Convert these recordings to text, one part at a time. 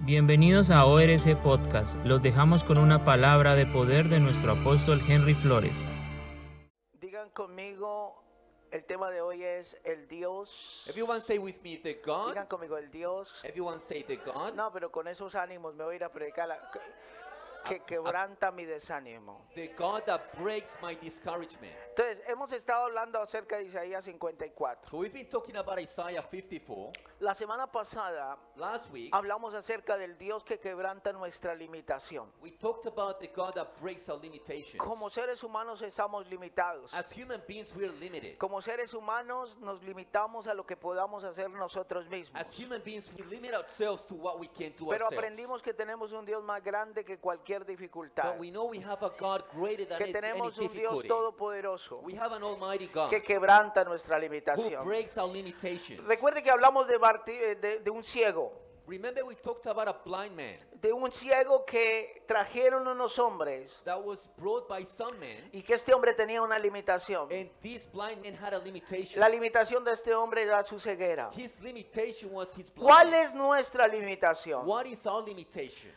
Bienvenidos a ORC Podcast. Los dejamos con una palabra de poder de nuestro apóstol Henry Flores. Digan conmigo, el tema de hoy es el Dios. Everyone say with me, the God. Digan conmigo, el Dios. Everyone say the God. No, pero con esos ánimos me voy a ir a predicar que quebranta mi desánimo. The God that breaks my discouragement. Entonces, hemos estado hablando acerca de Isaías 54. So we've been talking about Isaiah 54. La semana pasada Last week, hablamos acerca del Dios que quebranta nuestra limitación. we talked about the God that breaks our limitations. Como seres humanos estamos limitados. As human beings, we're limited. Como seres humanos nos limitamos a lo que podamos hacer nosotros mismos. As human beings, we limit ourselves to what we can do Pero ourselves. aprendimos que tenemos un Dios más grande que cualquier dificultad. But we know we have a God greater than Que any tenemos un Dios difficulty. todopoderoso We have an almighty God que quebranta nuestra who limitación. breaks our limitations. Recuerde que hablamos de un ciego, Remember we talked about a blind man de un ciego que trajeron unos hombres that was brought by some men, y que este hombre tenía una limitación. and this blind man had a limitation. La limitación de este hombre era su ceguera. His limitation was his ¿Cuál blindness. es nuestra limitación? What is our limitation?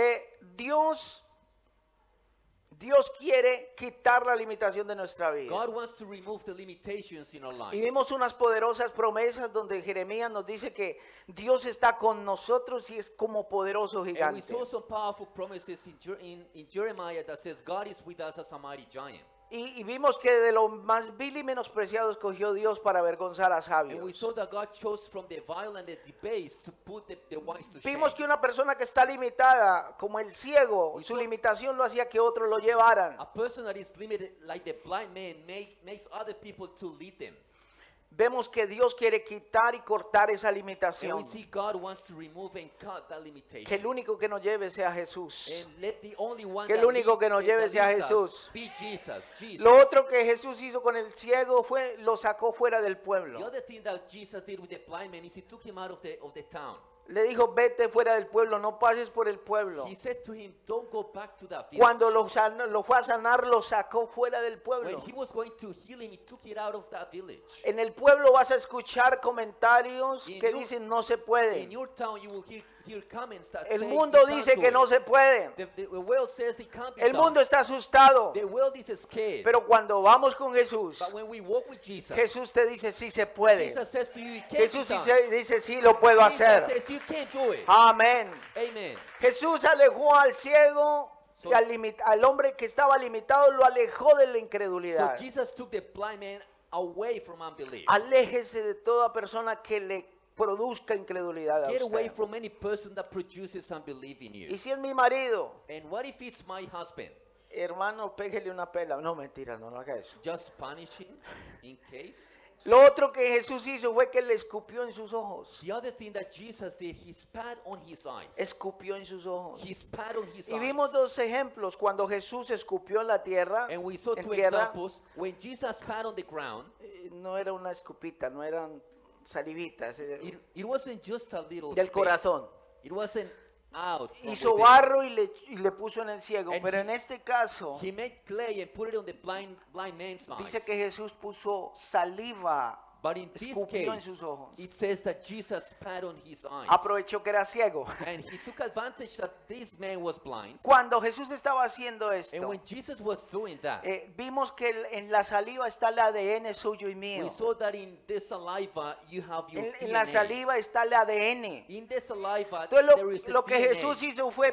Dios quiere quitar la limitación de nuestra vida. God wants to remove the limitations in our Y lives. vimos unas poderosas promesas donde Jeremías nos dice que Dios está con nosotros y es como poderoso And we gigante. saw some powerful promises in Jeremiah that says God is with us as a mighty giant. Y vimos que de lo más vil y menospreciado escogió Dios para avergonzar a And we sabios. saw that God chose from the vile and the debased to put the wise to shame. Vimos que una persona que está limitada, como el ciego, su limitación lo hacía que otros lo llevaran. A person that is limited like the blind man makes other people to lead them. Vemos que Dios quiere quitar y cortar esa And limitación. we see God wants to remove and cut that limitation. Que el único que nos lleve sea Jesús. And let the only one Que el that único que nos that lleve sea leads us Jesús. be Jesus. Lo otro que Jesús hizo con el ciego fue lo sacó fuera del The pueblo. other thing that Jesus did with the blind man is he took him out of the town. Le dijo, vete fuera del pueblo, no pases por el pueblo. He said to him, don't go back to that village. Cuando lo fue a sanar, lo sacó fuera del When pueblo. he was going to heal him, he took it out of that village. En el pueblo vas a escuchar comentarios que In dicen no se In puede. your town, you will hear comments that El say mundo you can't dice do que it. no se puede. The world says it can't be El done. mundo está asustado. The world is scared. Pero cuando vamos con Jesús, But when we walk with Jesus, Jesús te dice sí se puede. Jesus says to you, it can't Jesús be sí done. dice sí lo puedo Jesus hacer. says you can't do it. Amén. Amen. Jesús alejó al ciego y al hombre que estaba limitado lo alejó de la So incredulidad. Jesus took the blind man away from unbelief. Aléjese de toda persona que le produzca incredulidad a Get away usted. from any person that produces unbelief in you. Y si es mi marido, And what if it's my husband? hermano, pégele una pela. No, mentira, no haga eso. Just punish him in case? Lo otro que Jesús hizo fue que le escupió en sus ojos. The other thing that Jesus did, he spat on his eyes. Escupió en sus ojos. He spat on his Y vimos eyes. dos ejemplos. Cuando Jesús escupió en la tierra, And we saw en two tierra, examples. When Jesus spat on the ground, no era una escupita, no eran salivitas, it wasn't just a little del spit. corazón. It wasn't out from Hizo within. barro y le puso en el ciego. And Pero en este caso, He made clay and put it on the blind man's eyes. dice que Jesús puso saliva. But in this escupió en case, sus ojos. it says that Jesus spat on his eyes. Aprovechó que era ciego. And he took advantage that this man was blind. Cuando Jesús estaba haciendo And esto, when Jesus was doing that, vimos que en la saliva está el ADN suyo y we mío. saw that in the saliva you have your En la DNA. saliva está el ADN. In the saliva Entonces there is the lo que DNA. Jesús hizo fue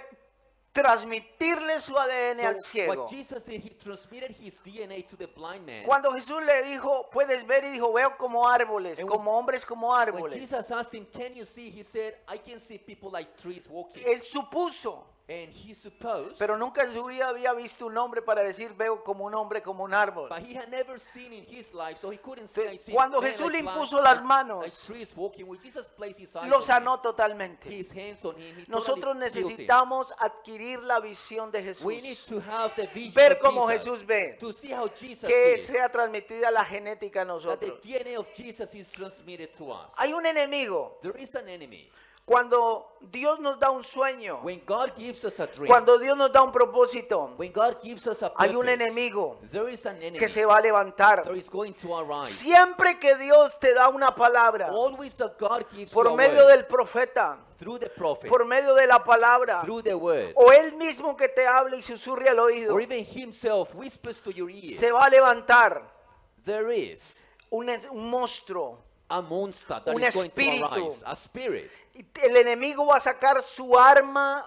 transmitirle su ADN al So ciego. what Jesus did, he transmitted his DNA to the blind man. Cuando Jesús le dijo, puedes ver, y dijo, veo como árboles, And como hombres como When árboles. Jesus asked him, can you see? He said, I can see people like trees walking. Él supuso, And he supposed, pero nunca en su vida había visto un hombre para decir, veo como un hombre, como un árbol. but he had never seen in his life, so he couldn't say, I see Cuando men Jesús like le impuso plants, las like manos, trees walking. When Jesus placed his eyes lo on sanó him, totalmente. his hands on him, he Nosotros totally healed him. necesitamos adquirir la visión de We need Jesús, to have the vision ver of cómo Jesus, Jesús ve, to see how Jesus que sees, sea transmitida la genética a that the nosotros. DNA of Jesus is transmitted to us. Hay un enemigo, There is an enemy. Cuando Dios nos da un sueño, When God gives us a dream, cuando Dios nos da un propósito, when God gives us a hay un purpose, enemigo there is an enemy que se va a levantar. that is going to arise. Siempre que Dios te da una palabra, Always that God gives you por a medio word, del profeta, through the prophet, por medio de la palabra, through the word, o Él mismo que te hable y susurre al oído, or even himself whispers to your ears, se va a levantar there is un monstruo. a monster that Un is going espíritu. to arise, a spirit. Y el enemigo va a sacar su arma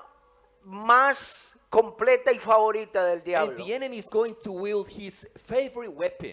más completa y favorita del And diablo. the enemy is going to wield his favorite weapon.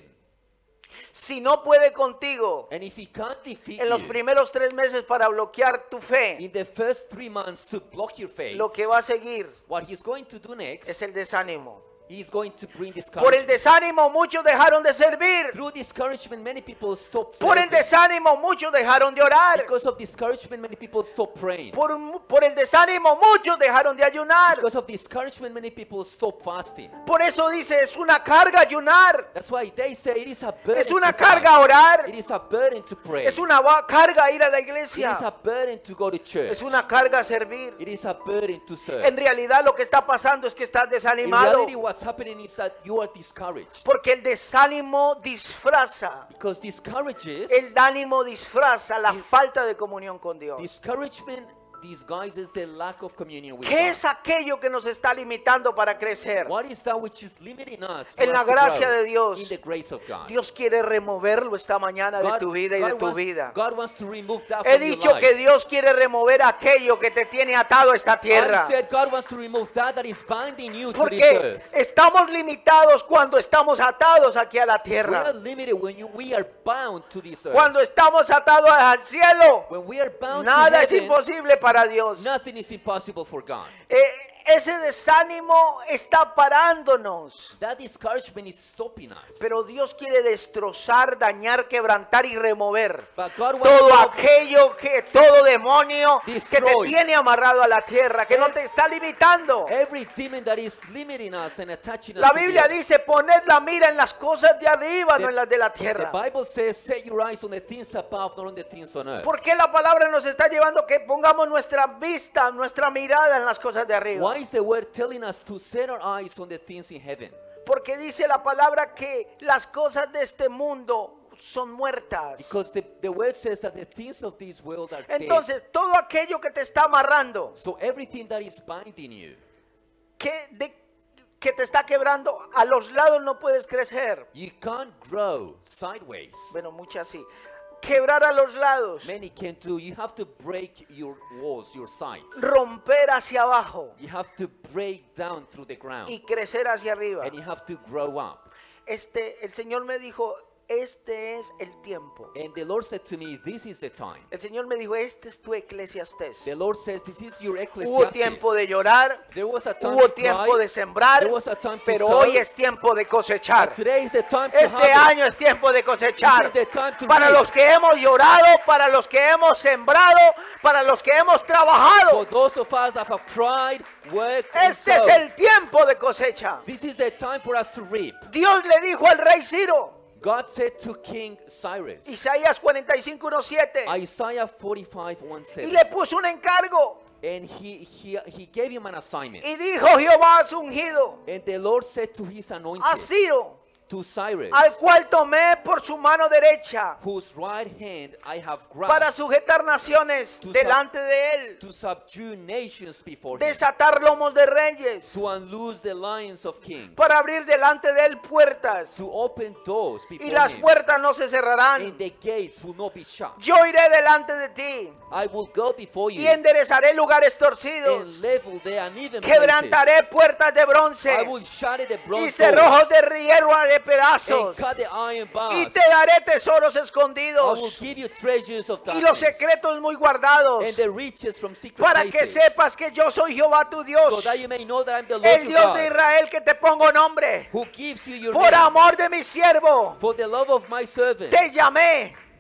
Si no puede contigo And if he can't defeat en los you primeros 3 meses para bloquear tu fe, in the first 3 months to block your faith, lo que va a seguir what he's going to do next, es el desánimo. he's going to bring Por el discouragement. desánimo muchos dejaron de servir. Through discouragement, many people stop Por el serving. desánimo muchos dejaron de orar. Because of discouragement, many people stop praying. Por el desánimo muchos dejaron de ayunar. Because of discouragement, many people stop fasting. Por eso dice, es una carga ayunar. That's why they say it is a burden Es una to carga fast. orar. It is a burden to pray. Es una carga ir a la It is a iglesia. burden to go to church. Es una carga servir. It is a burden to serve. En realidad lo que está pasando es que estás In desanimado. reality, what's happening is that you are discouraged. Porque el desánimo disfraza. Because discourages, El ánimo disfraza la falta de comunión con Dios. discouragement disguises the lack of communion with ¿Qué God. es aquello que nos está limitando para crecer? What is that which is limiting us En la for us to gracia grow? de Dios. In the grace of God. Dios quiere removerlo esta mañana de tu vida y de tu vida. God wants to remove that He from your dicho life. que Dios quiere remover aquello que te tiene atado a esta tierra. I said God wants to remove that is binding you to this Porque earth. estamos limitados cuando estamos atados aquí a la We are tierra. limited when we are bound to this earth. Cuando estamos atados al cielo, When we are bound nada to es heaven, imposible para Dios. nothing is impossible for God. Ese desánimo está parándonos. That discouragement is stopping us. Pero Dios quiere destrozar, dañar, quebrantar y remover But God wants todo to aquello todo demonio que te Destroy. tiene amarrado a la tierra, que no te está limitando. every demon that is limiting us and attaching us La to Biblia the earth. dice, poned la mira en las cosas de arriba, no en las de la The tierra. Bible says, set your eyes on the things above, not on the things on earth. ¿Por qué la palabra nos está llevando que pongamos nuestra vista, nuestra mirada en las cosas de arriba? Why is the word telling us to set our eyes on the things in heaven? Porque dice la palabra que las cosas de este mundo son muertas. Because the word says that the things of this world are dead. Entonces, todo aquello que te está amarrando, So everything that is binding you, que te está quebrando, a los lados no puedes crecer. you can't grow sideways. Bueno, muchas sí. Quebrar a los lados, Many can do. You have to break your walls, your sides. romper hacia abajo You have to break down through the ground. y crecer hacia arriba. And you have to grow up. El Señor me dijo, este es el tiempo. And the Lord said to me, this is the time. El Señor me dijo, este es tu Eclesiastés. The Lord says, this is your Hubo Ecclesiastes. tiempo de llorar, There was a time hubo to tiempo cry. de sembrar, There was a time to pero sow. hoy es tiempo de cosechar. But today is the time to Este harvest. año es tiempo de cosechar. This is the time to Para reap. los que hemos llorado, para los que hemos sembrado, para los que hemos For trabajado. those of us that have cried, worked, and Este es sowed. el tiempo de cosecha. This is the time for us to reap. Dios le dijo al rey Ciro, God said to King Cyrus, Isaías 45:1-7, Isaiah 45, 1 y says, le puso un encargo. and he gave him an assignment. Y dijo Jehová a su ungido, And the Lord said to his anointed, a Ciro, to Cyrus, al cual tomé por su mano derecha, whose right hand I have para grasped, sujetar naciones To delante de él, to subdue nations before him, desatar lomos de reyes, to unloose the lions of kings, para abrir delante de él puertas, to open doors y before las him, puertas no se cerrarán. and the gates will not be shut. Yo iré delante de ti I will go before y you enderezaré lugares and torcidos, level the uneven places. quebrantaré puertas de bronce I will shatter the y bronze cerrojos doors de hierro haré and pedazos, cut the iron y bars. te daré tesoros I will escondidos give you treasures of y los darkness secretos muy guardados, and the riches from secret para que places, sepas que yo soy Jehová tu so Dios, that you may know that I am the Lord el your Dios de God, Israel, que te pongo nombre. who gives you your Por name. amor de mi siervo For the love of my servant te llamé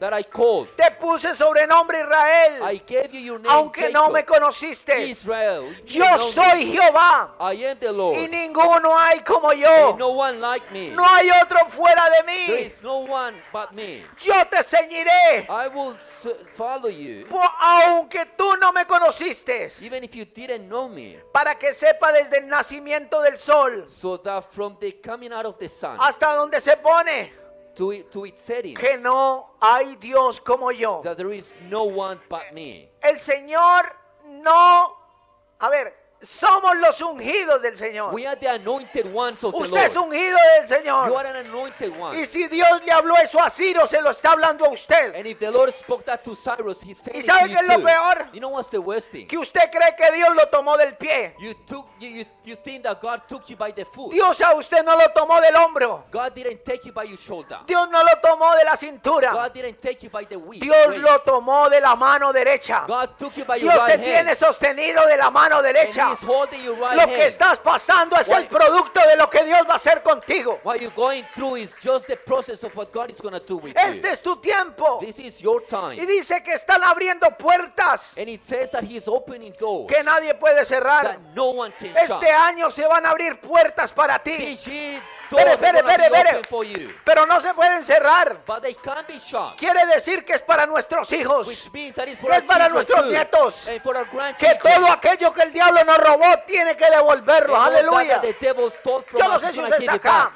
that I called. Te puse sobrenombre Israel, I gave you your name, aunque no me Jacob. conociste. Israel. You Yo didn't know soy me. Jehová I am the Lord. y ninguno hay como yo. And no one like me. No hay otro fuera de There mí. is no one but me. Yo te ceñiré, I will follow you, aunque tú no me conociste, even if you didn't know me, para que sepa desde el nacimiento del sol so that from the coming out of the sun hasta donde se pone to its settings, que no hay Dios como yo. that there is no one but me. El Señor no, a ver, somos los ungidos del Señor. We are the anointed ones of the Usted es Lord. ungido del You Señor. are an anointed one. Y si Dios le habló eso a Ciro, se lo está hablando a usted. And if the Lord spoke that to Cyrus, he's telling ¿Y it sabe to qué you es lo too. peor? You know what's the worst thing? Que usted cree que Dios lo tomó del pie. You think that God took you by the foot. Dios a usted no lo tomó del hombro. God didn't take you by your shoulder. Dios no lo tomó de la cintura. God didn't take you by the waist. Dios lo tomó de la mano derecha. God took you by your Dios te right tiene hand. sostenido de la mano And derecha. he's holding your right Lo que hand. estás pasando es el What- producto de lo que Dios va a hacer contigo. What you're going through is just the process of what God is going to do with Este you. es tu tiempo. This is your Y time. dice que están abriendo puertas And it says that he's opening doors que nadie puede cerrar. that no one can Este shut. año se van a abrir puertas para ti, This year, doors Espere, are gonna be espere. open for you. pero no se pueden cerrar. But they can't be shut. Quiere decir que es para nuestros hijos, Which means that it's for que our es para children nuestros too. nietos, And for our que grandchildren. todo aquello que el diablo nos robó tiene que devolverlo. And all that Aleluya. the devil stole from Yo no us, sé he's si gonna usted give está it acá. back.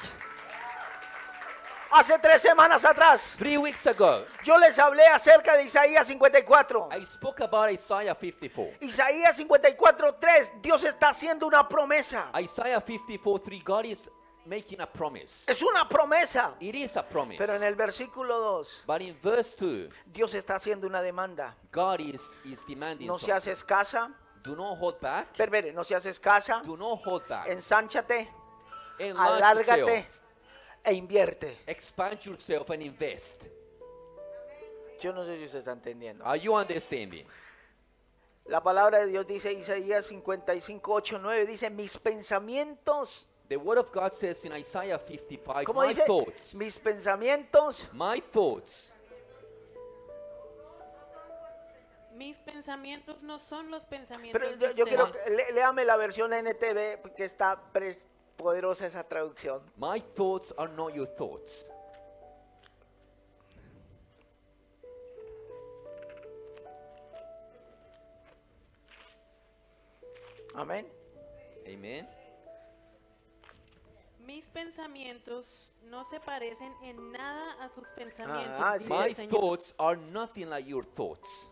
Hace 3 semanas atrás 3 weeks ago, yo les hablé acerca de Isaías 54. I spoke about Isaiah 54. Isaías 54:3, Dios está haciendo una promesa. Isaiah 54:3, God is making a promise. Es una promesa. It is a promise. Pero en el versículo 2, But in verse 2, Dios está haciendo una demanda. God is demanding No something. seas escasa. Do not hold back. Espere, no seas escasa. Do not hold back. Ensánchate, Enlarge alárgate yourself. e invierte. Expand yourself and invest. Yo no sé si usted está entendiendo. Are you understanding? La palabra de Dios dice, Isaías 55:8-9, dice, mis pensamientos, The word of God says in Isaiah 55, ¿cómo my dice? thoughts, Mis pensamientos my thoughts, Mis pensamientos no son los pensamientos pero de yo quiero, ustedes. léame la versión NTV, porque está poderosa esa traducción. my thoughts are not your thoughts. Amén. Amen. Mis pensamientos no se parecen en nada a sus pensamientos, Ah, dice sí. My el Señor. thoughts are nothing like your thoughts.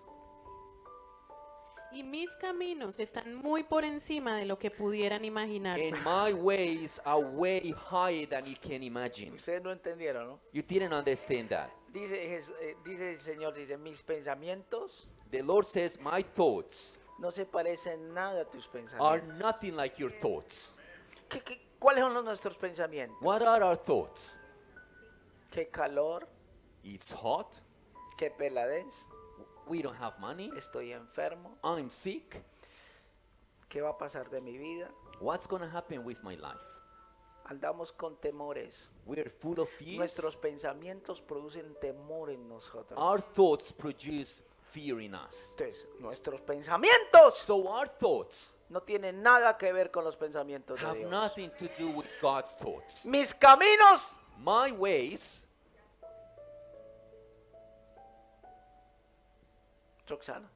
Y mis caminos están muy por encima de lo que pudieran imaginarse. And my ways are way higher than you can imagine. Ustedes no entendieron, ¿no? You didn't understand that. Dice el Señor, dice, mis pensamientos The Lord says, my thoughts no se parecen nada a tus are pensamientos. nothing like your thoughts. ¿Cuáles son nuestros pensamientos? What are our thoughts? ¿Qué calor? It's hot. ¿Qué peladez? We don't have money. Estoy enfermo. I'm sick. ¿Qué va a pasar de mi vida? What's going to happen with my life? Andamos con temores. We're full of fears. Nuestros pensamientos producen temor en nosotros. Our thoughts produce fear in us. Entonces, nuestros pensamientos So our thoughts no tienen nada que ver con los pensamientos de have Dios. nothing to do with God's thoughts. Mis caminos My ways, Roxana,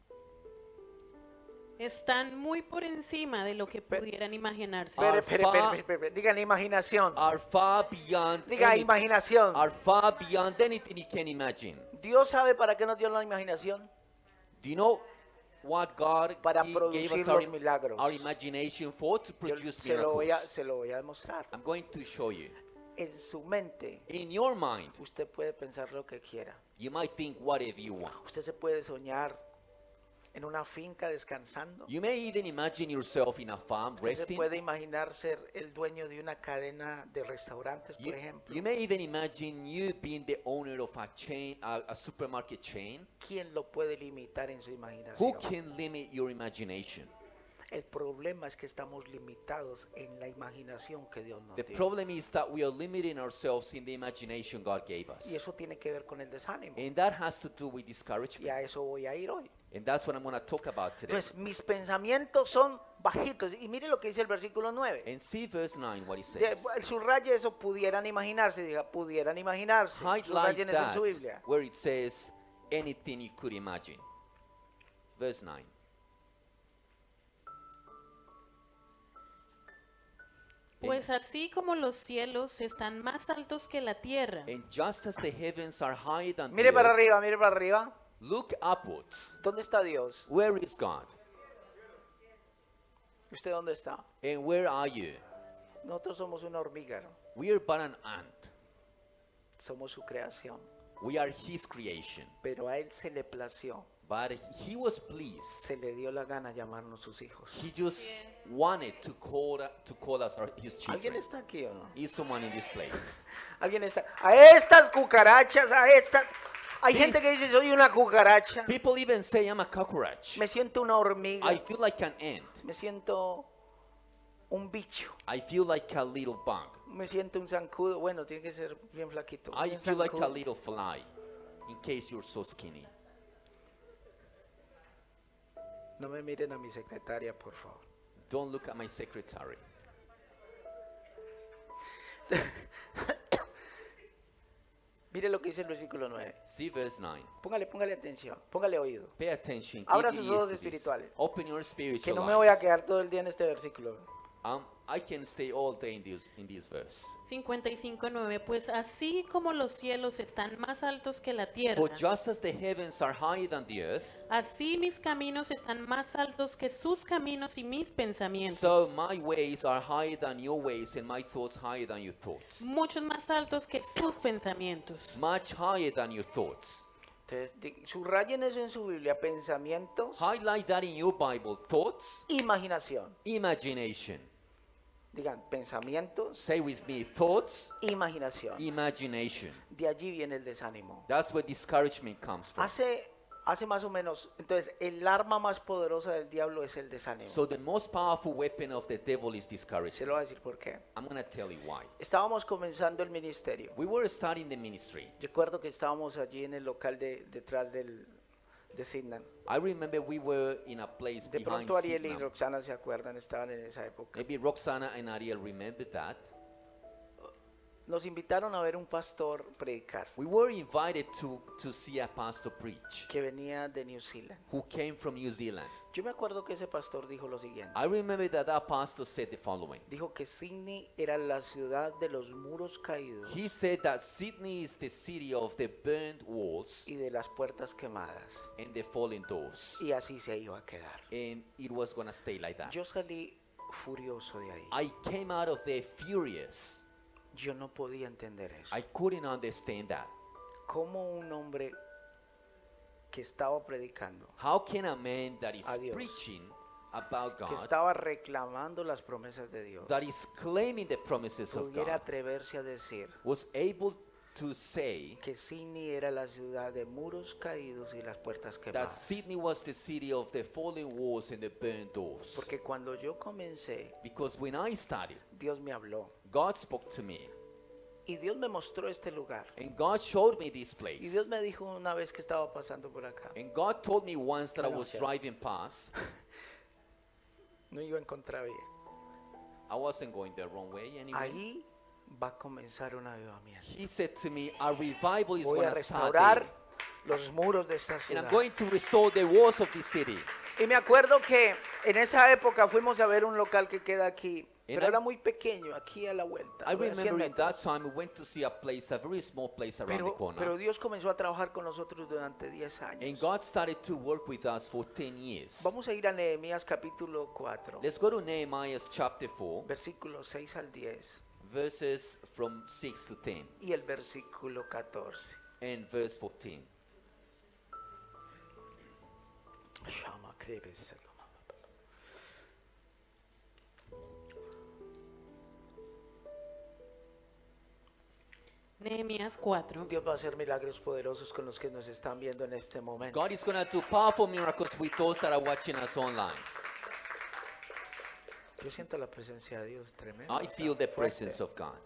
Están muy por encima de lo que pudieran imaginarse. espere, digan imaginación, are far beyond diga any- imaginación. are far beyond anything you can imagine. Dios sabe para qué nos dio la imaginación. Do you know what God Para gave producir us los milagros. our imagination for? To Yo produce se lo miracles. voy a demostrar. I'm going to show you. En su mente, In your mind, usted puede pensar lo que quiera. you might think whatever you want. Usted se puede soñar en una finca descansando. You may even imagine yourself in a farm Usted se resting. puede imaginar ser el dueño de una cadena de restaurantes, por ejemplo. You may even imagine you being the owner of a chain, a supermarket chain. ¿Quién lo puede limitar en su Who imaginación? can limit your imagination? El problema es que estamos limitados en la imaginación que Dios nos The dio. problem is that we are limiting ourselves in the imagination God gave us. Y eso tiene que ver con el desánimo. And that has to do with Y discouragement. a eso voy a ir hoy. And that's what I'm going to talk about today. Entonces, mis pensamientos son bajitos. Y mire lo que dice el versículo 9. And see verse 9 what it says. Subraye eso, pudieran imaginarse. Diga, pudieran imaginarse. Highlight Subrayen eso en that su Biblia. where it says anything you could imagine. Verse 9. Pues así como los cielos están más altos que la tierra, And just as the heavens are higher than the Mire para earth, arriba, mire para arriba. look upwards. ¿Dónde está Dios? Where is God? ¿Usted dónde está? And where are you? Nosotros somos una hormiga, ¿no? We are but an ant. Somos su creación. We are His creation. Pero a Él se le plació, But He was pleased. se le dio la gana llamarnos sus hijos. He just wanted to call us His ¿Alguien children. está aquí o no? Is someone in this place? ¿Alguien está? A estas cucarachas, a estas... Hay gente que dice, soy una cucaracha. People even say I'm a cockroach. Me siento una hormiga. I feel like an ant. Me siento un bicho. I feel like a little bug. Me siento un zancudo. Bueno, tiene que ser bien flaquito. I Un feel like a zancudo. little fly. In case you're so skinny. No me miren a mi secretaria, por favor. Don't look at my secretary. Mire lo que dice el versículo 9. See verse 9. Póngale atención, póngale oído. Pay attention. Abra Give sus ears ojos to this. espirituales. Open your Que spiritual no me voy a eyes. quedar todo el día en este versículo. I can stay all day in this verse. 55:9, pues así como los cielos están más altos que la tierra, For just as the heavens are higher than the earth, así mis caminos están más altos que sus caminos y mis pensamientos. so my ways are higher than your ways, and my thoughts higher than your thoughts. Muchos más altos que sus pensamientos. Much higher than your thoughts. Entonces, subrayen eso en su Biblia. Pensamientos, Highlight that in your Bible. Thoughts, imaginación. imagination. Digan, pensamientos, Say with me, thoughts, imaginación. imagination. De allí viene el desánimo. That's where discouragement comes from. Hace más o menos, entonces, el arma más poderosa del diablo es el desánimo. So the most powerful weapon of the devil is Se discouragement. lo voy a decir por qué. I'm going to tell you why. Estábamos comenzando el ministerio. We were starting the ministry. Recuerdo que estábamos allí en el local detrás de Sidnan. I remember we were in a place De behind pronto Ariel y Signal. Roxana se acuerdan, estaban en esa época. Maybe Roxana and Ariel remember that. Nos invitaron a ver un pastor predicar We were invited to see a pastor preach que venía de New Zealand. who came from New Zealand. Yo me acuerdo que ese pastor dijo lo siguiente. I remember that pastor said the following. Dijo que Sydney era la ciudad de los muros caídos He said that Sydney is the city of the burned walls y de las puertas quemadas. and the fallen doors. Y así se iba a quedar. And it was going to stay like that. Yo salí furioso de ahí. I came out of there furious. Yo no podía entender eso. I couldn't understand that. ¿Cómo un hombre que estaba predicando, How can a man that is A Dios. preaching about que God, estaba reclamando las promesas de Dios, that is claiming the promises of pudiera God, atreverse a decir was able to say que Sydney era la ciudad de muros caídos y las puertas that quemadas? Sydney was the city of the fallen walls and the burned doors? Porque cuando yo comencé, Because when I started, Dios me habló God spoke to me, y Dios me mostró este lugar. and God showed me this Y place. Dios me dijo una vez que estaba pasando por acá, And God told me once that I Bueno, was sí. driving past, no iba a encontrar bien. I wasn't going the wrong way anyway. Ahí va a comenzar un avivamiento. He said to me, a revival is Voy going a to start restaurar there. los muros de esta And ciudad. I'm going to restore the walls of this city. Y me acuerdo que en esa época fuimos a ver un local que queda aquí, pero I- era muy pequeño, aquí a la vuelta. I voy a 100 remember in that metros. time we went to see a place, a very small place around the Pero corner. Dios comenzó a trabajar con nosotros durante 10 And años. God started to work with us for 10 years. Vamos a ir a Nehemías capítulo 4, Let's go to Nehemiah chapter 4, versículos 6 al 10 verses from 6 to 10 y el versículo 14. and verse 14. Shama Krebes. Nehemías 4. Dios va a hacer milagros poderosos con los que nos están viendo en este momento. God is going to do powerful miracles with those that are watching us online. Yo siento la presencia de Dios tremenda. I feel the presence of God.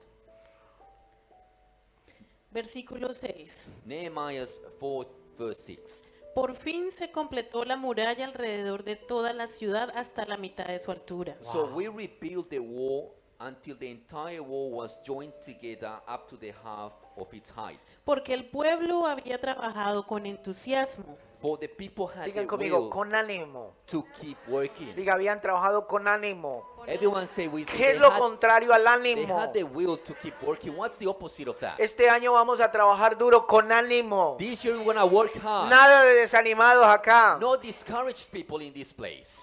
Versículo 6. Nehemiah 4 verse 6. Por fin se completó la muralla alrededor de toda la ciudad hasta la mitad de su altura. So we rebuilt the wall until the entire wall was joined together up to the half of its height. Porque el pueblo había trabajado con entusiasmo. For the people had Digan the conmigo, will con ánimo. to keep working. Diga, habían trabajado con ánimo. Everyone say with me, ¿Qué es lo contrario al they ánimo? had the will to keep working. What's the opposite of that? Este año vamos a trabajar duro con ánimo. This year we're gonna work hard. Nada de desanimados acá. No discouraged people in this place.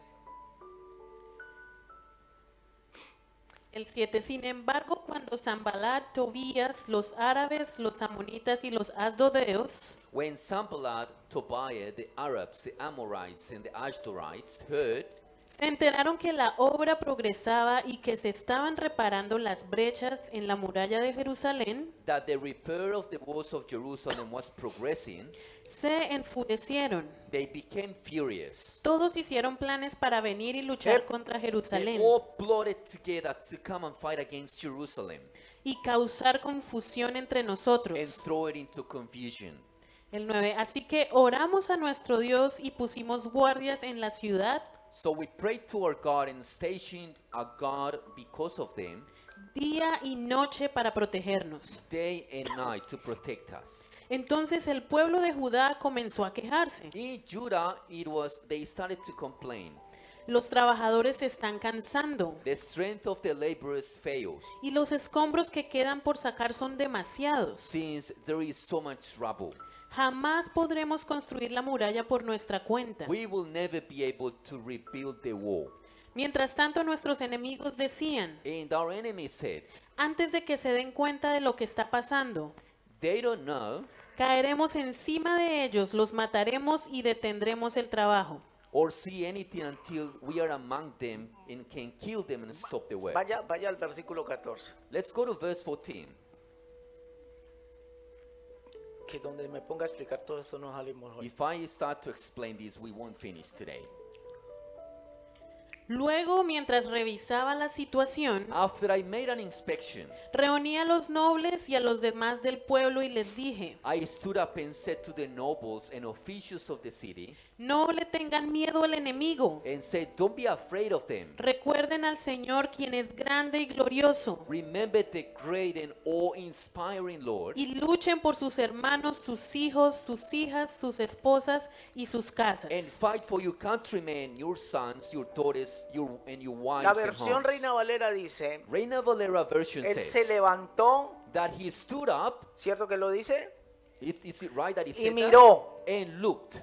El 7. Sin embargo, cuando Sanballat, Tobías, los árabes, los amonitas y los asdodeos When Sanballat, Tobiah, the Arabs, the Amorites, and the Ashdodites heard se enteraron que la obra progresaba y que se estaban reparando las brechas en la muralla de Jerusalén, that the repair of the walls of Jerusalem was progressing, se enfurecieron. they became furious. Todos hicieron planes para venir y luchar Yep. contra They Jerusalén all plotted together to come and fight against Jerusalem y causar confusión entre and nosotros. throw it into confusion. El 9. Así que oramos a nuestro Dios y pusimos guardias en la ciudad So we prayed to our God and stationed a guard because of them, día y noche para protegernos. day and night to protect us. Entonces el pueblo de Judá comenzó a quejarse. In Judah, they started to complain. Los trabajadores se están cansando The strength of the laborers fails, y los escombros que quedan por sacar son demasiados. since there is so much rubble. Jamás podremos construir la muralla por nuestra cuenta. We will never be able to rebuild the wall. Mientras tanto, nuestros enemigos decían, And our enemy said, antes de que se den cuenta de lo que está pasando, they don't know caeremos encima de ellos, los mataremos y detendremos el trabajo. or see anything until we are among them and can kill them and stop the work. Vaya al versículo 14. Let's go to verse 14. Que donde me ponga a explicar todo esto no salimos hoy. If I start to explain this, we won't finish today. Luego, mientras revisaba la situación, After I made an inspection, reuní a los nobles y a los demás del pueblo y les dije, I stood up and said to the nobles and officials of the city no le tengan miedo al enemigo. and said, don't be afraid of them. Recuerden al Señor, quien es grande y glorioso, Remember the great and awe-inspiring Lord, y luchen por sus hermanos, sus hijos, sus hijas, sus esposas y sus casas. and fight for your countrymen, your sons, your daughters, and your wives La and versión homes. Reina Valera dice, Reina Valera version él se says levantó, that he stood up. ¿cierto que lo dice? Is it right that he Y said that? miró. And looked.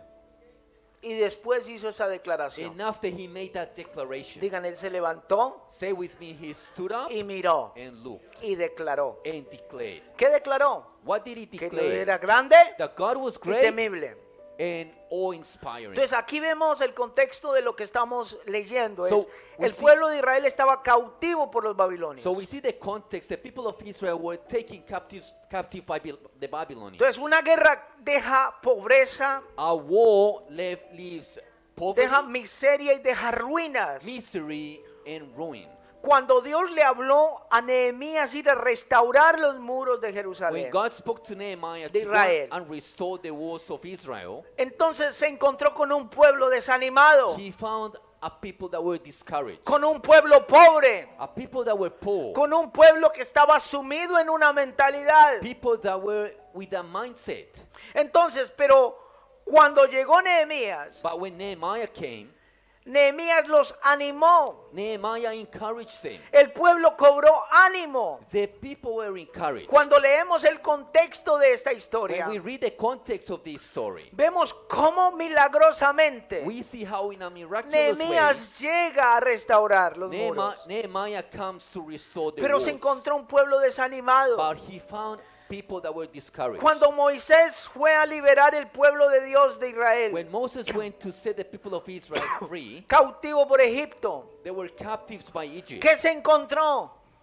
Y después hizo esa declaración. And after he made that declaration, Digan, él se levantó say with me, he stood up y miró and looked y declaró. and declared. ¿Qué declaró? What did he Que Dios declare? era grande That God was y great temible. and awe-inspiring. Entonces aquí vemos el contexto de lo que estamos leyendo. So, Es, we el see- pueblo de Israel estaba cautivo por los babilonios. So we see the context. The people of Israel were taken captive by the Babylonians. Entonces una guerra deja pobreza, A war leaves poverty, deja miseria y deja ruinas. misery, and ruin. Cuando Dios le habló a Nehemías ir a restaurar los muros de When Jerusalén, God spoke to Nehemiah de to go Israel. and restore the walls of Israel, entonces se encontró con un pueblo desanimado, he found a people that were discouraged, con un pueblo pobre, a people that were poor, con un pueblo que estaba sumido en una mentalidad. people that were with a mindset. Entonces, pero cuando llegó Nehemías, But when Nehemiah came, Nehemías los animó. Nehemiah encouraged them. El pueblo cobró ánimo. The people were encouraged. Cuando leemos el contexto de esta historia, When we read the context of this story, vemos cómo milagrosamente we see how in a miraculous way, Nehemías llega a restaurar los muros. Nehemiah comes to restore the Pero walls. se encontró un pueblo desanimado. But he found people that were discouraged. Cuando Moisés fue a liberar el pueblo de Dios de Israel, When Moses went to set the people of Israel free, cautivo por Egipto, they were captives by Egypt. ¿qué se encontró?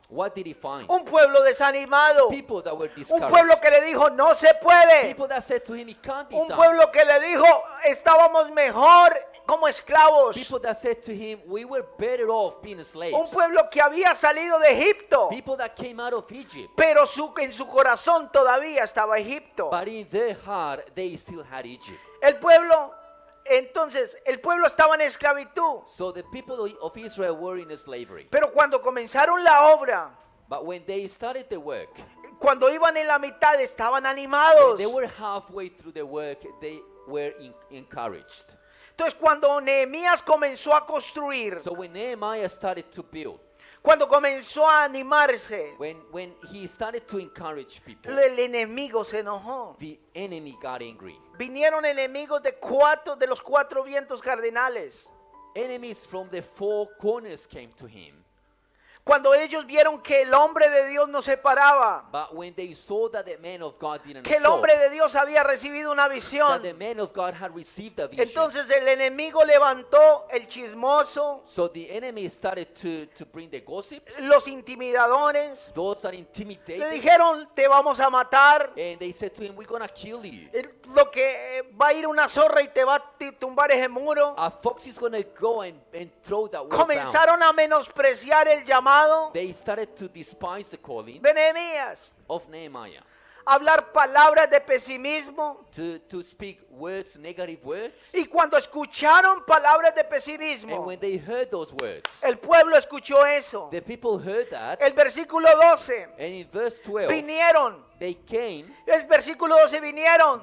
What did he find? Un pueblo desanimado. People that were Un discouraged. pueblo que le dijo, no se puede. People that said to him, it can't be Un done. pueblo que le dijo, estábamos mejor como esclavos. People that said to him, we were better off being slaves. Un pueblo que había salido de Egipto, People that came out of Egypt. pero en su corazón todavía estaba Egipto. But in their heart, they still had Egypt. El pueblo, entonces, el pueblo estaba en esclavitud. So the people of Israel were in slavery. Pero cuando comenzaron la obra, But when they started the work, cuando iban en la mitad, estaban when animados. they were halfway through the work, they were encouraged. Entonces, cuando Nehemías comenzó a construir, So when Nehemiah started to build, cuando comenzó a animarse, when he started to encourage people, el enemigo se enojó. the enemy got angry. Vinieron enemigos de los cuatro vientos cardinales. Enemies from the four corners came to him. Cuando ellos vieron que el hombre de Dios no se paraba, But when they saw that the man of God didn't que el stop, hombre de Dios había recibido una that visión, the man of God had received a vision, entonces el enemigo levantó el chismoso, so the enemy started to bring the gossips, los intimidadores, those that le intimidated, dijeron, te vamos a matar, and they said to him, we're gonna kill you. lo que va a ir una zorra y te va a tumbar ese muro. A fox is gonna go and throw that wall down. Comenzaron a menospreciar el llamado They started to despise the calling de Nehemías, of Nehemiah, hablar palabras de pesimismo. to speak words, negative words. Y cuando escucharon palabras de And pesimismo, when they heard those words, el pueblo escuchó eso. the people heard that, El versículo 12, and in verse 12, vinieron. they came, El versículo 12 vinieron.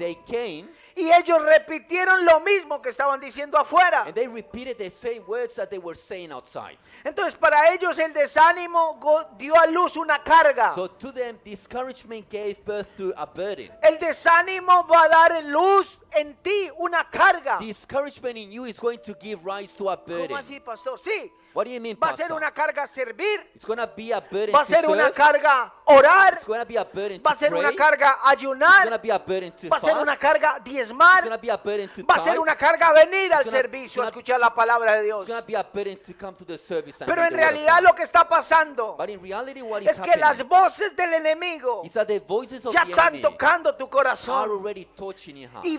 Y ellos repitieron lo mismo que estaban diciendo afuera. and they repeated the same words that they were saying outside. Entonces para ellos el desánimo dio a luz una carga. So to them, discouragement gave birth to a burden. El desánimo va a dar luz en ti una carga. Discouragement in you is going to give rise to a burden. ¿Cómo así, pastor? Sí, What do you mean, va a ser Pastor? una carga servir, It's going to be a burden va a to ser una serve. carga orar, It's going to be a burden va a to ser pray. una carga It's going to ayunar, be a burden to va a ser una fast. carga It's diezmar, going to be a burden to va a ser tithe. una carga venir al It's gonna- servicio a it's gonna- escuchar la palabra de Dios. It's going to be a burden to come to the service and Pero hear en the word of realidad God. lo que está pasando But in reality, what is es que las happening voces del enemigo is that the voices of ya the están enemy tocando tu are corazón already touching your heart. y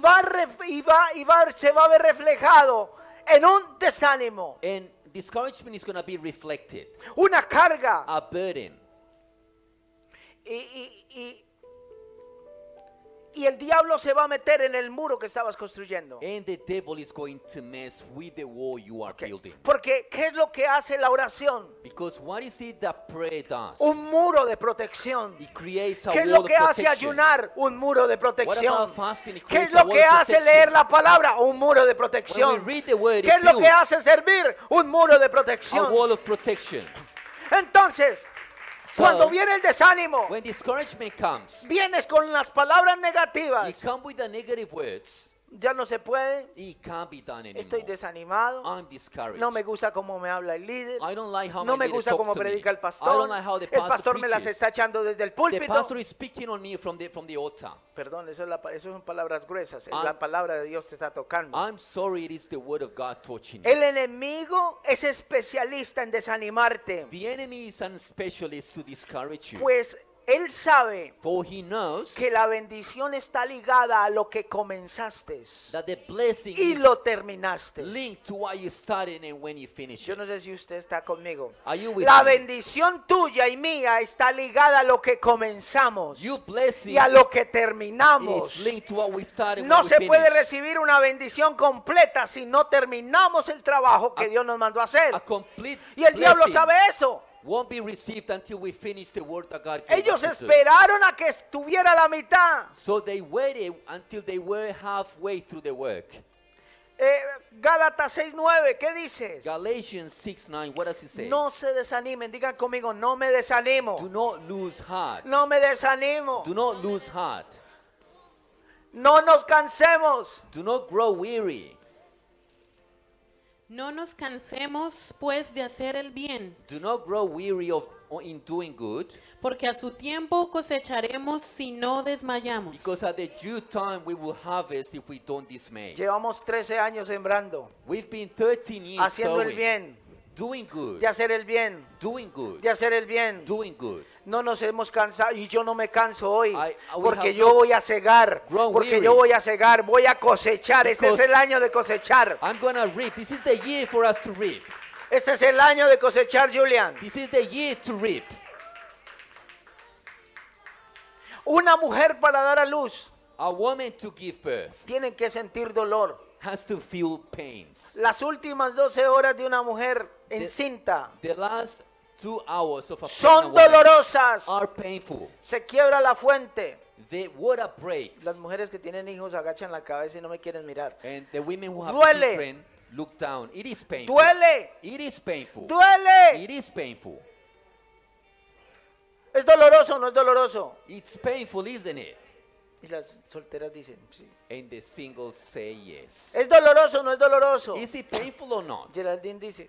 se va a ver reflejado en un desánimo, And discouragement is going to be reflected. una carga. A burden. Y el diablo se va a meter en el muro que estabas construyendo. And the devil is going to mess with the wall you are building. Porque ¿qué es lo que hace la oración? Because what is it that prayer does? Un muro de protección. It creates a ¿Qué es wall lo of que hace protection. ayudar? Un muro de What protección. about fasting? It ¿Qué es creates a lo wall que of hace protection. leer la palabra? Un muro de When protección. we read the word, ¿Qué es it lo que builds hace servir? Un muro de a protección. wall of protection. Entonces, So, cuando viene el desánimo, when discouragement comes, vienes con las palabras you negativas. come with the negative words. Ya no se puede. It can't be done anymore. Estoy desanimado. I'm discouraged. No me gusta cómo me habla el líder. I don't like how No my me leader gusta talks cómo to me. predica el I pastor. don't like how the El pastor me las preaches. está echando desde el The púlpito. pastor is speaking on me from the altar. Perdón, eso son palabras gruesas. I'm- La palabra de Dios te está tocando. I'm sorry, it is the word of God touching you. El enemigo es especialista en desanimarte. The enemy is a specialist to discourage you. Pues él sabe For he knows que la bendición está ligada a lo que comenzaste that the blessing y is lo terminaste. linked to what you started and when you finish Yo it. no sé si usted está conmigo. Are you with La me? bendición tuya y mía está ligada a lo que comenzamos Your blessing y a lo que terminamos. is linked to what we started No when we se puede finished. recibir una bendición completa si no terminamos el trabajo que Dios nos mandó a hacer. A complete Y el diablo blessing sabe eso. won't be received until we finish the work that God gave Ellos us to do. esperaron a que estuviera a la mitad. So they waited until they were halfway through the work. Gálatas 6:9, ¿qué dices? Galatians 6:9, what does it say? No se desanimen, digan conmigo, no me desanimo. Do not lose heart. No me desanimo. Do not lose heart. No nos cansemos. Do not grow weary. No nos cansemos pues de hacer el bien, Do not grow weary in doing good, porque a su tiempo cosecharemos si no desmayamos. because at the due time we will harvest if we don't dismay. Llevamos 13 años sembrando, We've been 13 years haciendo el sowing, bien. Doing good. de hacer el bien, Doing good. de hacer el bien. Doing good. No nos hemos cansado y yo no me canso hoy we porque have yo not voy a cegar, grown porque weary. yo voy a cegar, voy a cosechar. Este es Because el año de cosechar. I'm gonna reap. This is the year for us to reap. Este es el año de cosechar, Julian. This is the year to reap. Una mujer para dar a luz A woman to give birth tiene que sentir dolor. has to feel pains. Las últimas 12 horas de una mujer encinta The last 2 hours of a son pregnant woman dolorosas. are painful. Se quiebra la fuente. The water breaks. Las mujeres que tienen hijos agachan la cabeza y no me quieren mirar. And the women who have Duele. children look down. It is painful. Duele, It is painful. duele. It is painful. ¿Es doloroso o no es doloroso? It's painful, isn't it? Y las solteras dicen, sí. And the singles say yes. ¿Es doloroso o no es doloroso? Is it painful or not? Geraldine dice,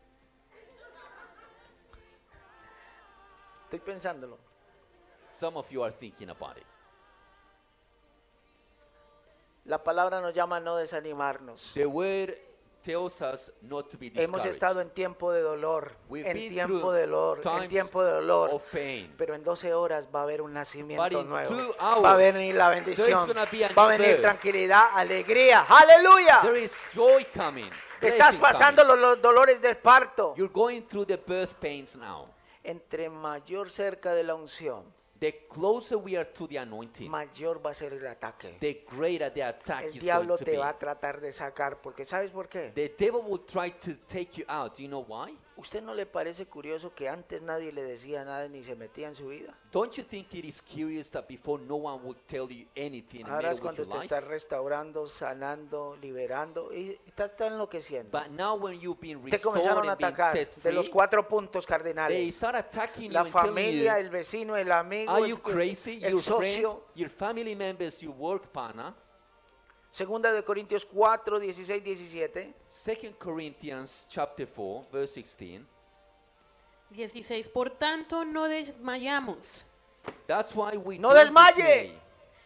estoy pensándolo. Some of you are thinking about it. La palabra nos llama a no desanimarnos. The word tells us not to be Hemos estado discouraged. en tiempo de dolor, We've en been tiempo through de dolor, en times tiempo de dolor. of pain. Pero en 12 horas va a haber un But nacimiento in nuevo. 2 hours, Va a venir la there is bendición. gonna be a Va a new venir birth. tranquilidad, alegría. ¡Aleluya! There is joy coming. Estás blessing pasando coming. los dolores del parto. You're going through the birth pains now. Entre mayor cerca de la unción, The closer we are to the anointing, mayor va a ser el ataque. the greater the attack El is going diablo to te be. va a tratar de sacar, porque ¿sabes por qué? The devil will try to take you out. Do you know why? ¿Usted no le parece curioso que antes nadie le decía nada ni se metía en su vida? Don't you think it is curious that before no one would tell you anything and Ahora es with cuando your usted life? está restaurando, sanando, liberando y está enloqueciendo. But now when you've been Te restored comenzaron a and been atacar set de free, los 4 puntos they cardinales. start attacking La you and telling familia, you, el vecino, el amigo, are el, you crazy? el Your friend, socio. your family members, your work partner. Segunda de Corintios 4, 16, 17. 2 Corinthians chapter 4, verse 16. 16. Por tanto, no desmayamos. That's why we No don't desmaye. dismay.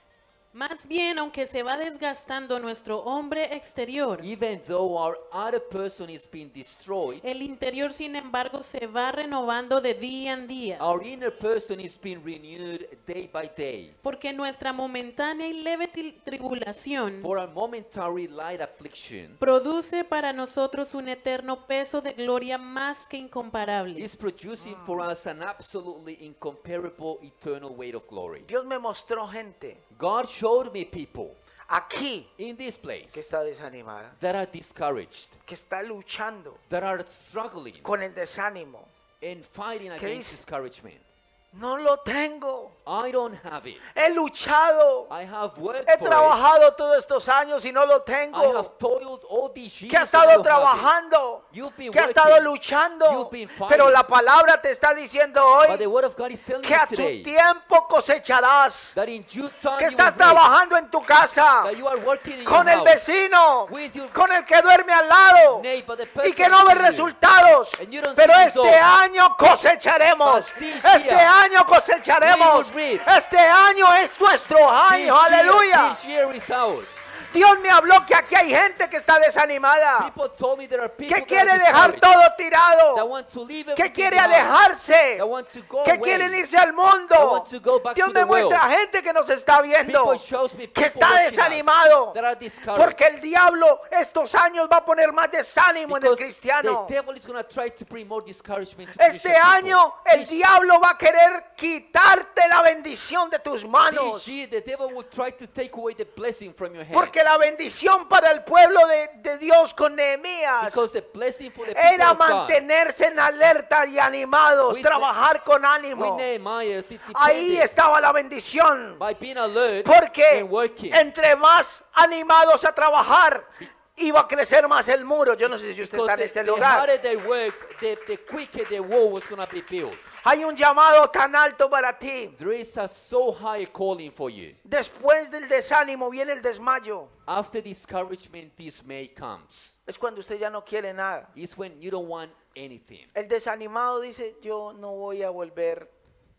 Más bien, aunque se va desgastando nuestro hombre exterior, Even though our other person is being destroyed, el interior, sin embargo, se va renovando de día en día. our inner person is being renewed day by day. Porque nuestra momentánea y leve tribulación For a momentary light affliction produce para nosotros un eterno peso de gloria más que incomparable. is producing for us an absolutely incomparable eternal weight of glory. Dios me mostró gente God showed me people aquí in this que place está desanimada, that are discouraged, que está luchando that are struggling con el desánimo. and fighting ¿Qué against dice? discouragement. No lo tengo. I don't have it. He luchado. I have worked He for it. trabajado todos estos años y no lo I tengo. have toiled all these years. Que ha and I estado don't have it. trabajando. You've been Que ha estado working. luchando. You've been fighting. Pero la palabra te está diciendo But the hoy word of God is telling que you a tu today tiempo cosecharás. that in due time Que you estás will reap, trabajando en tu casa. that you are working in Con your el house, vecino. with your Con el que duerme al lado. neighbor, the Y person que no ve next to you. resultados. And you don't Pero see este results. año cosecharemos. But this Este year, año cosecharemos. we will reap. Este año es nuestro año. Aleluya. This year is ours. Dios me habló que aquí hay gente que está desanimada. People told me there are people Que that quiere are dejar discouraged, todo that tirado. want to leave Que everything quiere behind, alejarse. that want to go Que away. quieren irse al That mundo. want to go back Dios to me the world. muestra gente que nos está viendo. People shows me Que people está watching us desanimado. that are discouraged. Porque el diablo estos años va a poner más desánimo en el Because cristiano. the devil is going to try to bring more discouragement to Este Christian año people. el diablo va a querer quitarte la bendición de tus manos. This year the devil will try to take away the blessing from your hand. Porque la bendición para el pueblo de Dios con Nehemías Because the blessing for the people era of God mantenerse en alerta y animados, With trabajar con with ánimo. Nehemiah, it Ahí depended estaba la bendición. by being alert Porque and working. entre más animados a trabajar, iba a crecer más el muro. Yo no sé si usted Because está en este the lugar. harder they work, the quicker the wall was going to be built. Hay un llamado tan alto para ti. There is a so high calling for you. Después del desánimo viene el desmayo. After discouragement, dismay comes. Es cuando usted ya no quiere nada. It's when you don't want anything. El desanimado dice, yo no voy a volver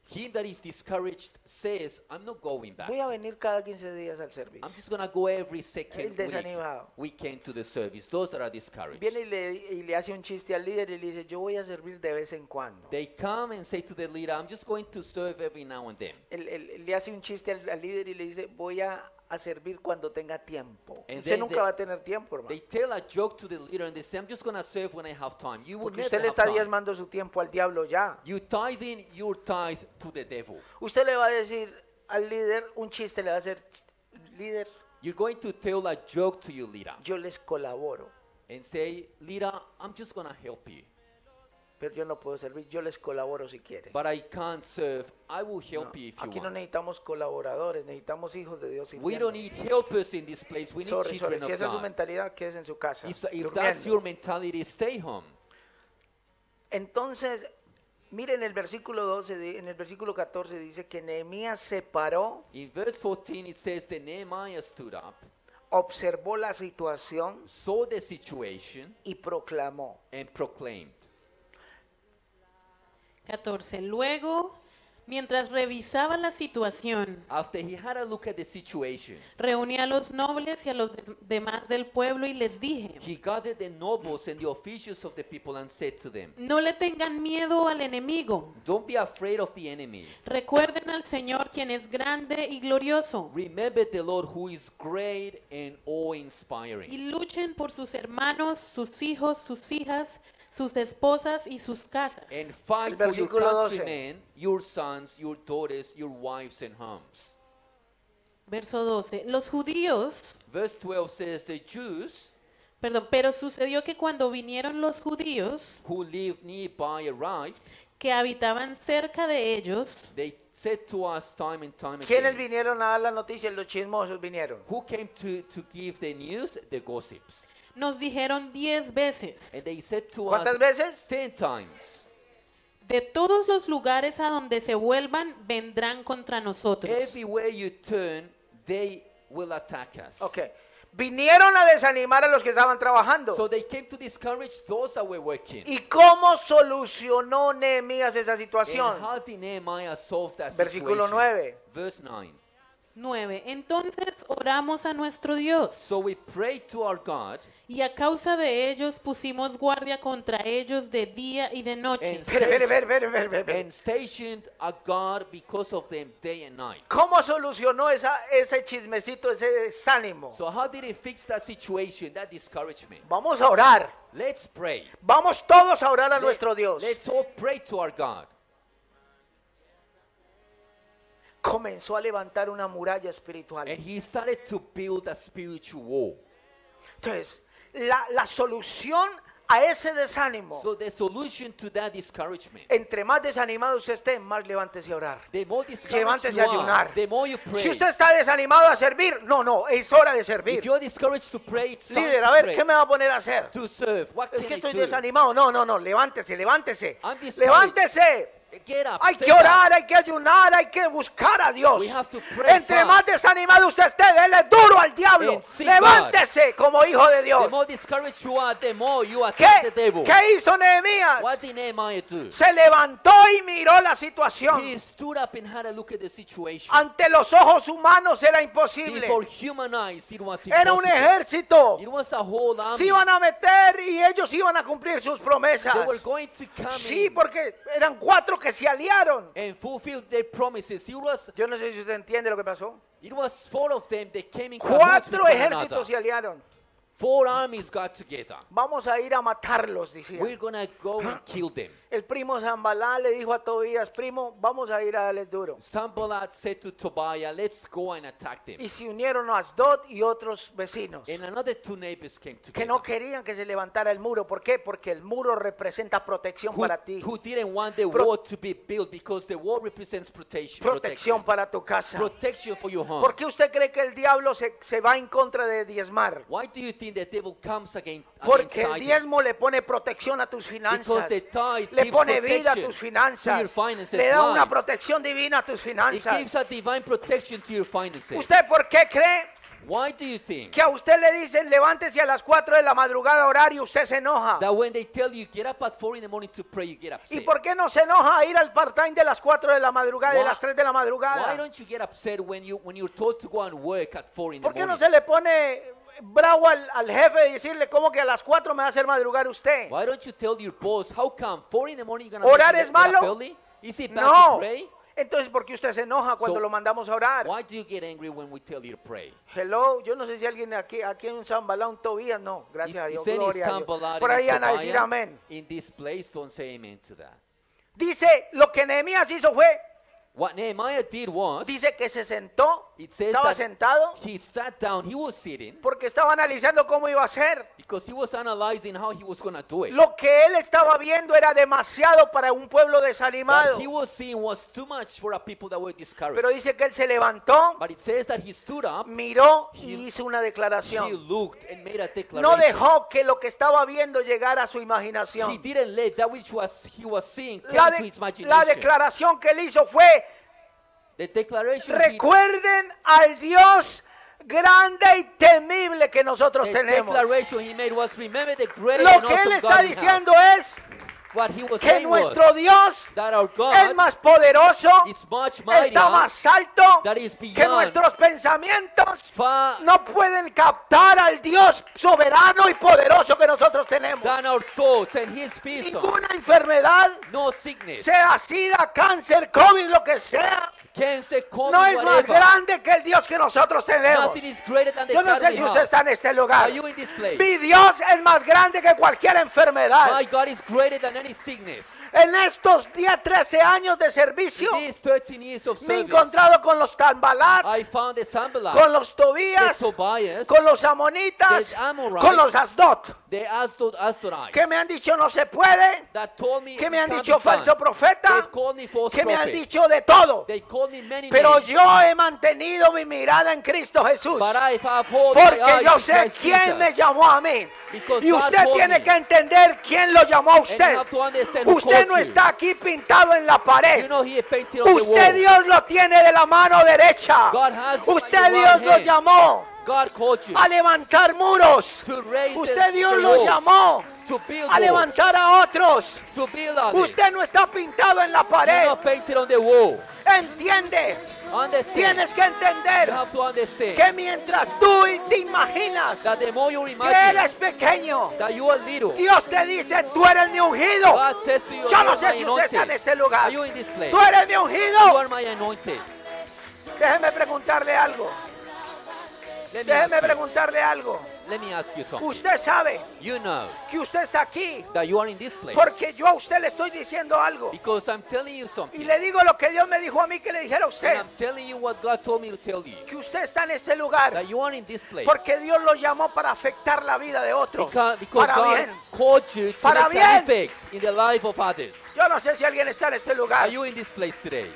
Him that is discouraged says, I'm not going back. Voy a venir cada 15 días al I'm servicio. just going to go every El second desanimado. weekend to the service. Those that are discouraged. Viene y le hace un chiste al líder y le dice, yo voy a servir de vez en cuando. They come and say to the leader, I'm just going to serve every now and then. Le hace un chiste al líder y le dice, voy a servir cuando tenga tiempo. And Usted then nunca they- va a tener tiempo, hermano. They tell a joke to the leader and they say, I'm just going to serve when I have time. You will Porque never usted le have está time. diezmando su tiempo al diablo ya. You tithing your tithe to the devil. Usted le va a decir al líder un chiste, le va a hacer, líder, You're going to tell a joke to your leader yo les colaboro, and say, leader, I'm just going to help you. pero yo no puedo servir, yo les colaboro si quiere. But I can't serve. I will help No, you if you aquí no want. necesitamos colaboradores, necesitamos hijos de Dios. We don't need helpers in this place. We need Sorry. children Si of esa es su God. mentalidad, quédese en su casa. If that's durmiendo. your mentality, stay home. Entonces, miren el versículo 12, en el versículo 14 dice que Nehemías se paró, In verse 14, it says that Nehemiah stood up, observó la situación saw the situation, y proclamó. and proclaimed. 14. Luego, mientras revisaba la situación, After he had a look at the situation, reuní a los nobles y a los demás del pueblo y les dije, he gathered the nobles and the officials of the people and said to them, no le tengan miedo al enemigo. don't be afraid of the enemy. Recuerden al Señor quien es grande y glorioso. Remember the Lord who is great and awe-inspiring. Y luchen por sus hermanos, sus hijos, sus hijas, sus esposas y sus casas. And fight El for your versículo 12. countrymen, your sons, your daughters, your wives and homes. Verso 12. Los judíos, Verse 12 says, the Jews pero sucedió que cuando vinieron los judíos who lived nearby arrived, que habitaban cerca de ellos, they said to us time and time ¿Quiénes again, vinieron a dar la noticia? Los chismosos vinieron. who came to give the news? The gossips. nos dijeron 10 veces, And they said to ¿Cuántas us veces? 10 times, de todos los lugares a donde se vuelvan, vendrán contra nosotros. everywhere you turn, they will attack us. Ok. Vinieron a desanimar a los que estaban trabajando. So they came to discourage those that were working. ¿Y cómo solucionó Nehemías esa And situación? how did Nehemiah solve that Versículo situation? 9. Verse 9. 9. Entonces oramos a nuestro Dios, So we prayed to our God y a causa de ellos pusimos guardia contra ellos de día y de noche. and Espere. stationed a guard because of them day and night. ¿Cómo solucionó ese chismecito, ese desánimo? So how did he fix that situation, that discouragement? Vamos a orar. Let's pray. Vamos todos a orar a nuestro Dios. Let's all pray to our God. Comenzó a levantar una muralla espiritual. And he started to build a spiritual wall. Entonces, la solución a ese desánimo, So the solution to that discouragement, entre más desanimado usted esté, más levántese a orar. the more discouraged Levántese you a ayunar. are, the more you pray. Si usted está desanimado a servir, no, es hora de servir. If you're discouraged to pray, it's time Líder, to a ver, pray. ¿qué me va a poner a hacer? To serve. What Es can que I estoy do? desanimado. No, levántese. I'm discouraged. Levántese. Get up. Hay que stand up. orar, hay que ayunar, hay que buscar a Dios. We have to pray Entre fast. más desanimado usted esté, dele duro al diablo. And seek Levántese como hijo de The Dios. more discouraged you are, the more you attack the devil. ¿Qué hizo Nehemías? What did Nehemiah do? Se levantó y miró la situación. He stood up and had a look at the situation. Ante los ojos humanos era imposible. Before human eyes, it was Era un impossible. ejército. It was a whole army. Se iban a meter y ellos iban a cumplir sus promesas. They were going to come Sí, in porque eran 4 que se aliaron. and fulfill their promises. Yo no sé si usted entiende lo que pasó. It was 4 of them that came in cahoots with 4 one ejércitos another. se aliaron. 4 armies got together. Vamos a ir a matarlos, decía. We're gonna go and kill them. El primo Zambalá le dijo a Tobías, primo, vamos a ir a darles duro. Sanballat said to Tobiah, let's go and attack them. Y se unieron a Asdod y otros vecinos And another 2 neighbors came que together. no querían que se levantara el muro. ¿Por qué? Porque el muro representa protección who, para ti, who didn't want the Pro- wall to be built because the wall represents protection. protección para tu casa. Protection for your home. ¿Por qué usted cree que el diablo se va en contra de diezmar? Why do you think the devil comes against Porque el tithing? diezmo le pone protección a tus finanzas, Because the tithe le gives pone vida a protection tus to finanzas, your finances, le da una life. protección divina a tus It finanzas. gives a divine protection to your finances. ¿Usted por qué cree? Why do you think que a usted le dicen levántese a las 4 de la madrugada a orar y usted se enoja? that when they tell you get up at 4 in the morning to pray, you get ¿Y upset? por qué no se enoja a ir al part-time de las 4 de la madrugada y de Why- las 3 de la Why madrugada? don't you get upset when you're told to go and work at 4 in the ¿Por qué no morning? se le pone bravo al jefe y decirle cómo que a las 4 me va a hacer madrugar usted? Why don't you tell your boss, how come 4 in the morning you're ¿Orar gonna es get up malo? early? Is it bad to No. pray? Entonces, ¿por qué usted se enoja cuando So, lo mandamos a orar? Why do you get angry when we tell you to pray? Hello, yo no sé si alguien aquí en un Zambalá, un Tobías, no, gracias a Is Dios, any gloria a Dios. Sambalat Por in ahí van a decir Tobiah amén. in this place? Don't say amen to that. Dice, lo que Nehemías hizo fue, What Nehemiah did was, dice que se sentó, it says estaba that sentado, he sat down, he was sitting, porque estaba analizando cómo iba a ser. because he was analyzing how he was going to do it. Lo que él estaba viendo era demasiado para un pueblo desanimado. What he was seeing was too much for a people that were discouraged. Pero dice que él se levantó, But it says that he stood up, miró y He- hizo una he declaración. looked and made a No declaration. dejó que lo que estaba viendo llegara a su He imaginación. didn't let that which he was seeing La, come to his la imagination. declaración que él hizo fue, The declaration recuerden al Dios grande y temible que nosotros the tenemos. declaration he made was, remember the great Lo and que él awesome está God we have. diciendo es What he was que saying was nuestro Dios that our es God más poderoso, is much mightier, está más alto, that is que beyond, nuestros pensamientos far no pueden captar al Dios soberano y poderoso que nosotros tenemos. than our thoughts and his vision. Ninguna enfermedad, No sickness, sea SIDA, cáncer, COVID, lo que sea, cancer, COVID, no es más whatever. grande que el Dios que nosotros tenemos. Nothing is greater than the Yo no God sé we si usted have. está en este lugar. Are you in this place? Mi Dios es más grande que cualquier enfermedad. My God is greater than any sickness. En estos 10, 13 años de servicio, In these 13 years of me he service, encontrado con los Tambalats, I found the Sanballat, con los the Tobías, Tobias, con los Amonitas, the Amorites, con los Asdod, the Asdodites, que me han dicho no se puede, that told me que me it han can't dicho be done. falso profeta, They've called me false que me han prophet. dicho de todo. They called me many Pero names. yo he mantenido mi mirada en Cristo Jesús. But I have hold my Porque eyes yo on sé Christ quién Jesus. me llamó a mí. Because Y God usted told tiene me. que entender quién lo llamó a And usted. you have to understand who Usted called no you. está aquí pintado en la pared. You know he painted on the Usted wall. Dios lo tiene de la mano derecha. God has you Usted by your Dios right lo hand. llamó God called you a levantar muros. to raise Usted Dios the lo walls, llamó to build a walls, levantar a otros. to build others. Usted no está pintado en la You're pared. not painted on the wall. Entiende. Understand. Tienes que You entender have to understand que mientras tú te imaginas that the more you que imagine eres pequeño, that you are little, Dios te dice, tú eres mi ungido. God says to you, Yo you no are sé my si usted está en anointed. este lugar. Are you in this place? Tú eres mi You ungido. are my anointed. Déjeme preguntarle algo. Let me ask Déjeme you. preguntarle algo. Let me ask you something. Usted sabe You know que usted está aquí that you are in this place porque yo a usted le estoy diciendo algo. because I'm telling you Y something. le digo lo que Dios me dijo a mí que le dijera a And usted. I'm telling you what God told me to tell you. Que usted está en este lugar That you are in this place. porque Dios lo llamó para afectar la vida de otros. Because Para God bien. called you to Para make an bien. effect in the life of others. Yo no sé si alguien está en este lugar. Are you in this place today?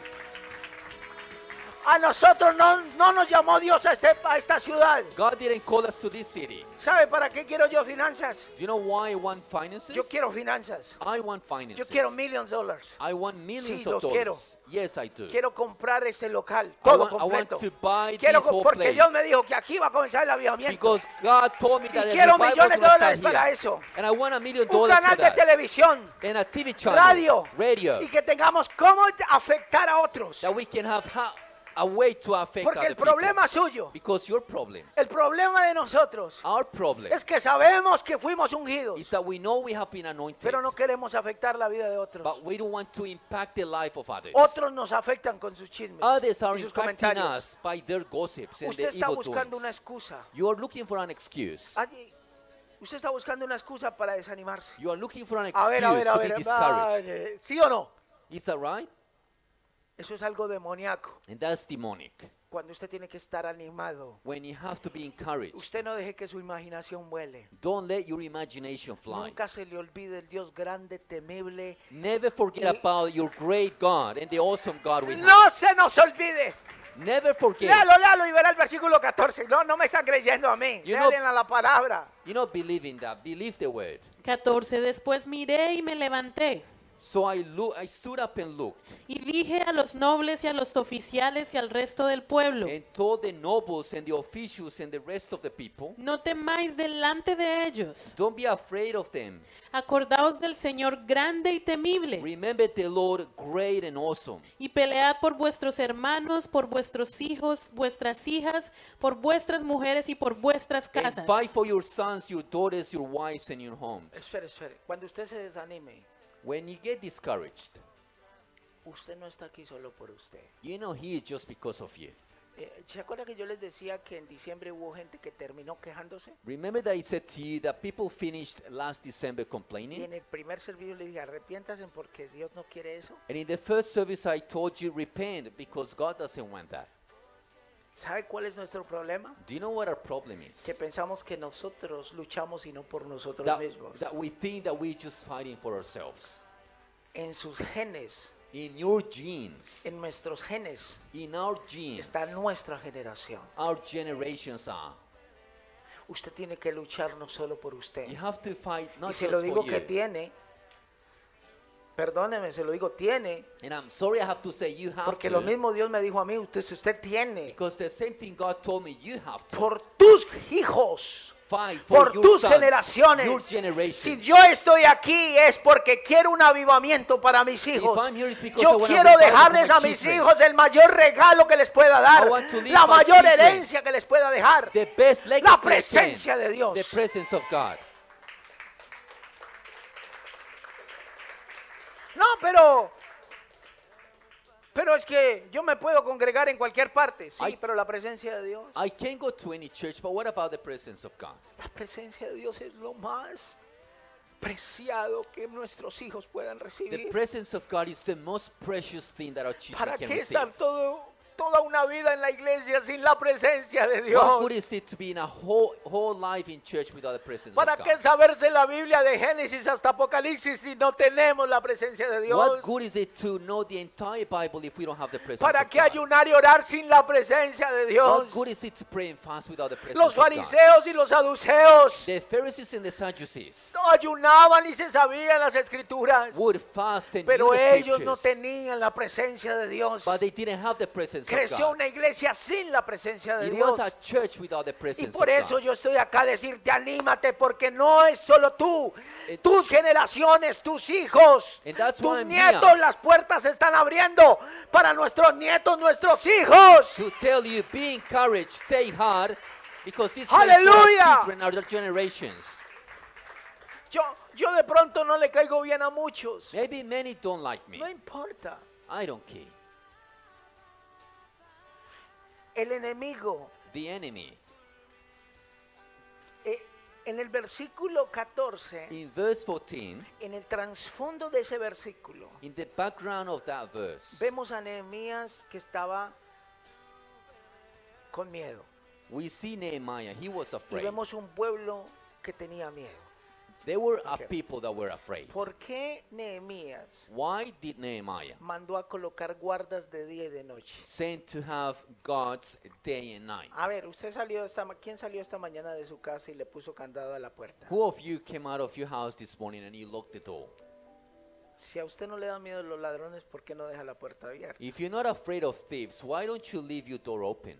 A nosotros no nos llamó Dios a esta ciudad. God didn't call us to this city. ¿Sabe para qué quiero yo finanzas? Do you know why I want finances? Yo quiero finanzas. I want finances. Yo quiero $millions. I want millions Sí, of los dollars. quiero. Yes, I do. Quiero comprar ese local, I todo want completo. to buy Quiero this whole porque place. Dios me dijo que aquí va a comenzar el avivamiento. Because God told me that Y the quiero revival was millones de gonna dólares start para here. eso. And I want $1 million Un for canal de that. televisión, And a TV channel. radio, Radio. y que tengamos cómo afectar a otros. That we can have a way to affect Porque other el problema people. suyo, Because your problem, el problema de nosotros, our problem, es que sabemos que fuimos ungidos, is that we know we have been anointed. pero no queremos afectar la vida de otros. But we don't want to impact the life of others. Otros nos afectan con sus chismes Others are y sus impacting comentarios. us by their gossips and Usted their está evil buscando una doings. excusa. You are looking for an excuse. Usted está buscando una excusa para desanimarse. You are looking for an A ver, excuse to be discouraged. vale, ¿sí o no? Is that right? Eso es algo demoníaco. And that's demonic. Cuando usted tiene que estar animado. When you have to be encouraged, Usted no deje que su imaginación vuele. don't let your imagination fly. Nunca se le olvide el Dios grande, temible. Never forget about your great God and the awesome God we have. No se nos olvide. Never forget. Léalo y verá el versículo 14. No me están creyendo a mí. You know- Léalen a la palabra. You know, believe in that. Believe the word. 14. Después miré y me levanté. So I stood up and looked, y dije a los nobles y a los oficiales y al resto del pueblo, and told the nobles and the officials and the rest of the people, no temáis delante de ellos. don't be afraid of them. Acordaos del Señor grande y temible, Remember the Lord great and awesome, y pelead por vuestros hermanos, por vuestros hijos, vuestras hijas, por vuestras mujeres y por vuestras and casas. fight for your sons, your daughters, your wives, and your homes. Espere, espere. Cuando usted se desanime, When you get discouraged, usted no está aquí solo por usted. you're not here just because of you. ¿Se acuerda que yo les decía que en diciembre hubo gente que terminó quejándose? Remember that I said to you that people finished last December Y complaining? en el primer servicio les dije, arrepiéntanse porque Dios no quiere eso. And in the first service, I told you, repent because God doesn't want that. ¿Sabe cuál es nuestro problema? Do you know what our problem is? Que pensamos que nosotros luchamos y no por nosotros That, mismos. that we think that we're just fighting for ourselves. En sus genes, In your genes, en nuestros genes, in our genes, está nuestra generación. our generations are. Usted tiene que luchar no solo por usted. You have to fight Y not se just lo digo for que you. tiene, perdóneme, se lo digo tiene, And I'm sorry I have to say you have porque to. lo mismo Dios me dijo a mí, usted tiene, Because the same thing God told me, you have to por tus hijos, fight for por your tus sons, generaciones. your generation. Si yo estoy aquí es porque quiero un avivamiento para mis hijos. I'm here, it's because I Yo want quiero revival dejarles for a my mis children. hijos el mayor regalo que les pueda dar, I want to leave la my mayor children herencia que les pueda dejar, The best legacy la I can, presencia de Dios. the presence of God. No, pero es que yo me puedo congregar en cualquier parte, sí, Ay. pero la presencia de Dios, I can go to any church, but what about the presence of God? la presencia de Dios es lo más preciado que nuestros hijos puedan The recibir. presence of God is the most precious thing that our children ¿Para can qué receive. estar toda una vida en la iglesia sin la presencia de What Dios? good is it to be in a whole life in church without the presence ¿Para of qué God? saberse la Biblia de Génesis hasta Apocalipsis si no tenemos la presencia de Dios? What good is it to know the entire Bible if we don't have the presence ¿Para of qué God? ayunar y orar sin la presencia de What Dios? good is it to pray and fast without the presence Los of God? fariseos y los saduceos The Pharisees and the Sadducees no ayunaban y se sabían las escrituras, would fast and pero knew the ellos no scriptures, tenían la presencia de Dios. but they didn't have the presence Creció of una God. iglesia sin la presencia de It Dios. was a church without the Y presence por of eso God. yo estoy acá a decirte, anímate, porque no es solo tú, tus generaciones, tus hijos, And that's tus why I'm nietos, here. las puertas se están abriendo para nuestros nietos, nuestros hijos. To tell you, be encouraged, stay hard, because this Hallelujah. children are the generations. Yo de pronto no le caigo bien a muchos. Maybe many don't like me. No importa. I don't care. El enemigo, The enemy. en el versículo 14, In verse 14, en el trasfondo de ese versículo, in the background of that verse, vemos a Nehemías que estaba con miedo. we see Nehemiah. He was Y afraid. vemos un pueblo que tenía miedo. There were a Okay. people that were afraid. ¿Por qué Nehemías Why did Nehemiah mandó a colocar guardas de día y de noche? send to have God's day and night? A ver, ¿quién salió esta mañana de su casa y le puso candado a la puerta? Who of you came out of your house this morning and you locked the door? Si a usted no le da miedo los ladrones, ¿por qué no deja la puerta abierta? If you're not afraid of thieves, why don't you leave your door open?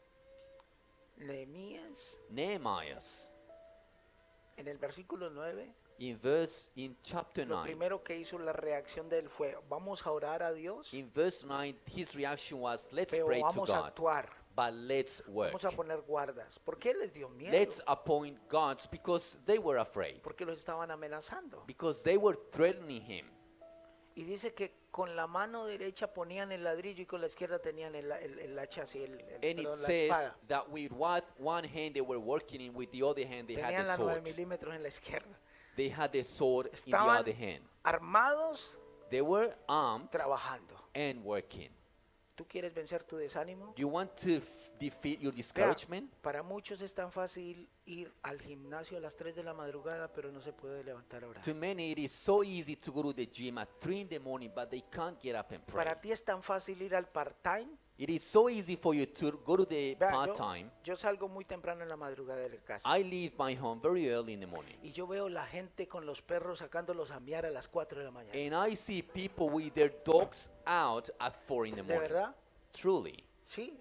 Nehemías, Nehemiah's en el versículo 9, in chapter lo 9. primero que hizo la reacción de él fue, vamos a orar a Dios, In verse 9, his reaction was, let's pero pray to vamos a God, actuar, but let's work. vamos a poner guardas. ¿Por qué les dio miedo? Let's appoint gods because they were afraid, Porque los estaban amenazando. because they were threatening him. Y dice que con la mano derecha ponían el ladrillo y con la izquierda tenían el hacha así, And it perdón, la says espada. that with one hand they were working in, with the other hand they had Tenían the la 9 sword. milímetros en la izquierda. They had the sword in the Estaban other hand. armados They were armed trabajando. and working. ¿Tú quieres vencer tu desánimo? You want to defeat your Vea, discouragement? para muchos es tan fácil ir al gimnasio a las 3 de la madrugada, pero no se puede levantar a orar. To many, it is so easy to go to the gym at 3 in the morning, but they can't get up and pray. Para ti es tan fácil ir al part-time, It is so easy for you to go to the Vea, part-time. yo salgo muy temprano en la madrugada de la casa. I leave my home very early in the morning. Y yo veo la gente con los perros sacándolos a miar a las 4 de la mañana. And I see people with their dogs out at 4 in the ¿De morning. verdad? Truly. Sí,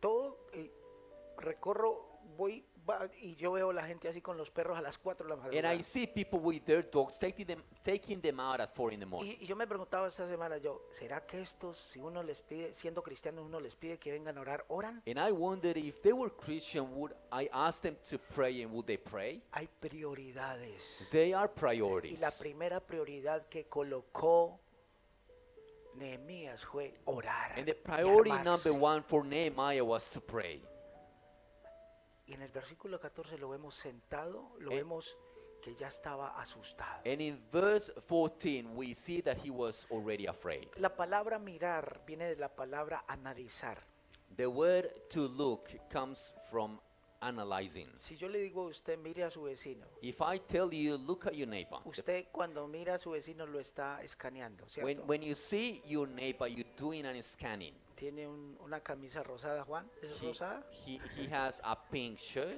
recorro, voy y yo veo la gente así con los perros a las 4 de la And madrugada. I see people with their dogs taking them out at 4 in the morning. Y yo me preguntaba esta semana, ¿será que estos, si uno les pide, siendo cristianos, uno les pide que vengan a orar, oran? And I wondered if they were Christian, would I ask them to pray and would they pray? Hay prioridades. They are Y priorities. la primera prioridad que colocó Nehemías fue orar. And the y priority armarse. number one for Nehemiah was to pray. Y en el versículo 14 lo vemos sentado, lo Eh. vemos que ya estaba asustado. And in verse 14, we see that he was already afraid. La palabra mirar viene de la palabra analizar. The word to look comes from analyzing. Si yo le digo a usted mire a su vecino, If I tell you, look at your neighbor. usted cuando mira a su vecino lo está escaneando, ¿cierto? When you see your neighbor, you're doing an scanning. Tiene una camisa rosada, Juan, ¿es rosada? He has a pink shirt.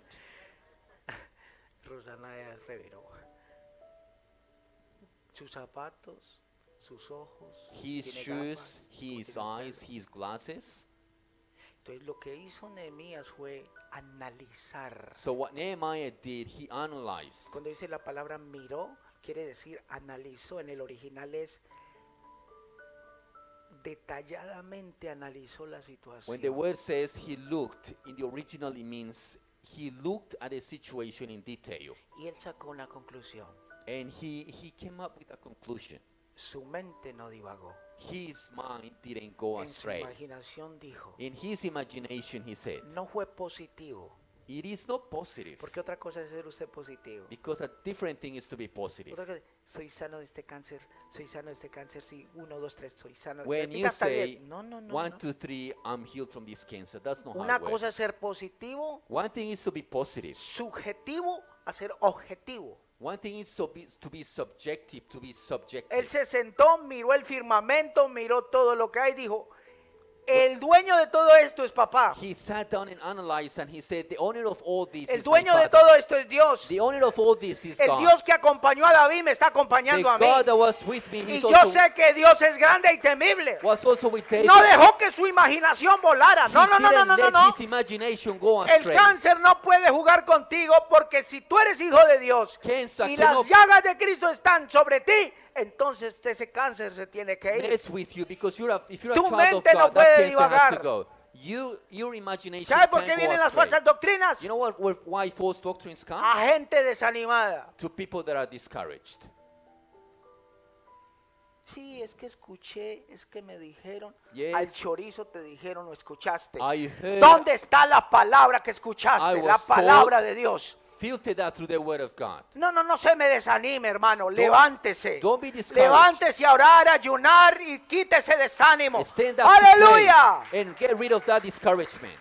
Rosana es reveró. Sus zapatos, sus ojos, His tiene shoes, gafas, his tiene eyes, pelo. his glasses. Entonces lo que hizo Nehemías fue analizar. So what Nehemiah did, he analyzed. Cuando dice la palabra miró, quiere decir analizó. En el original es detalladamente analizó la situación. When the word says he looked, in the original it means he looked at a situation in detail. Y él sacó una conclusión. And he came up with a conclusion. Su mente no divagó. His mind didn't go En su astray. imaginación dijo, In his imagination, he said, no fue positivo. it is not positive. Porque otra cosa es ser usted positivo. Because a different thing is to be positive. Otra cosa, soy sano de este cáncer, soy sano de este cáncer, sí, 1, 2, 3, soy sano. When Repita you hasta say, 10. No, no, no, 1, no. 2, 3, I'm healed from this cancer, that's not how Una it cosa works. es ser positivo, One thing is to be positive. subjetivo a ser objetivo. One thing is to be subjective, to be Él subjective. se sentó, miró el firmamento, miró todo lo que hay, dijo, el dueño de todo esto es papá. He sat down and analyzed and he said, the owner of all this El is my dueño de father. todo esto es Dios. The owner of all this is El God. Dios que acompañó a David me está The acompañando a mí. God that was with me, Y he's yo also, sé que Dios es grande y temible. was also with David. No dejó que su imaginación volara. No, He no, no, no, didn't no, no, let no. his imagination go El astray. cáncer no puede jugar contigo porque si tú eres hijo de Dios Cancer y cannot las llagas de Cristo están sobre ti, entonces ese cáncer se tiene que ir. mess with you because if you're a Tu child of mente no God, puede that cancer has divagar. to go. Your imagination ¿Sabe por can't qué go vienen las astray. falsas doctrinas? You know why false doctrines come? A gente desanimada. To people that are discouraged. Sí, es que escuché, es que me dijeron, Yes. al chorizo te dijeron o escuchaste. I heard, ¿Dónde está la palabra que I escuchaste? was La palabra de Dios. filter that through the word of God. No se me desanime, hermano. Levántese. Don't be discouraged. Levántese a orar, a ayunar y quítese desánimo. Stand up to ¡Aleluya! pray and get rid of that discouragement.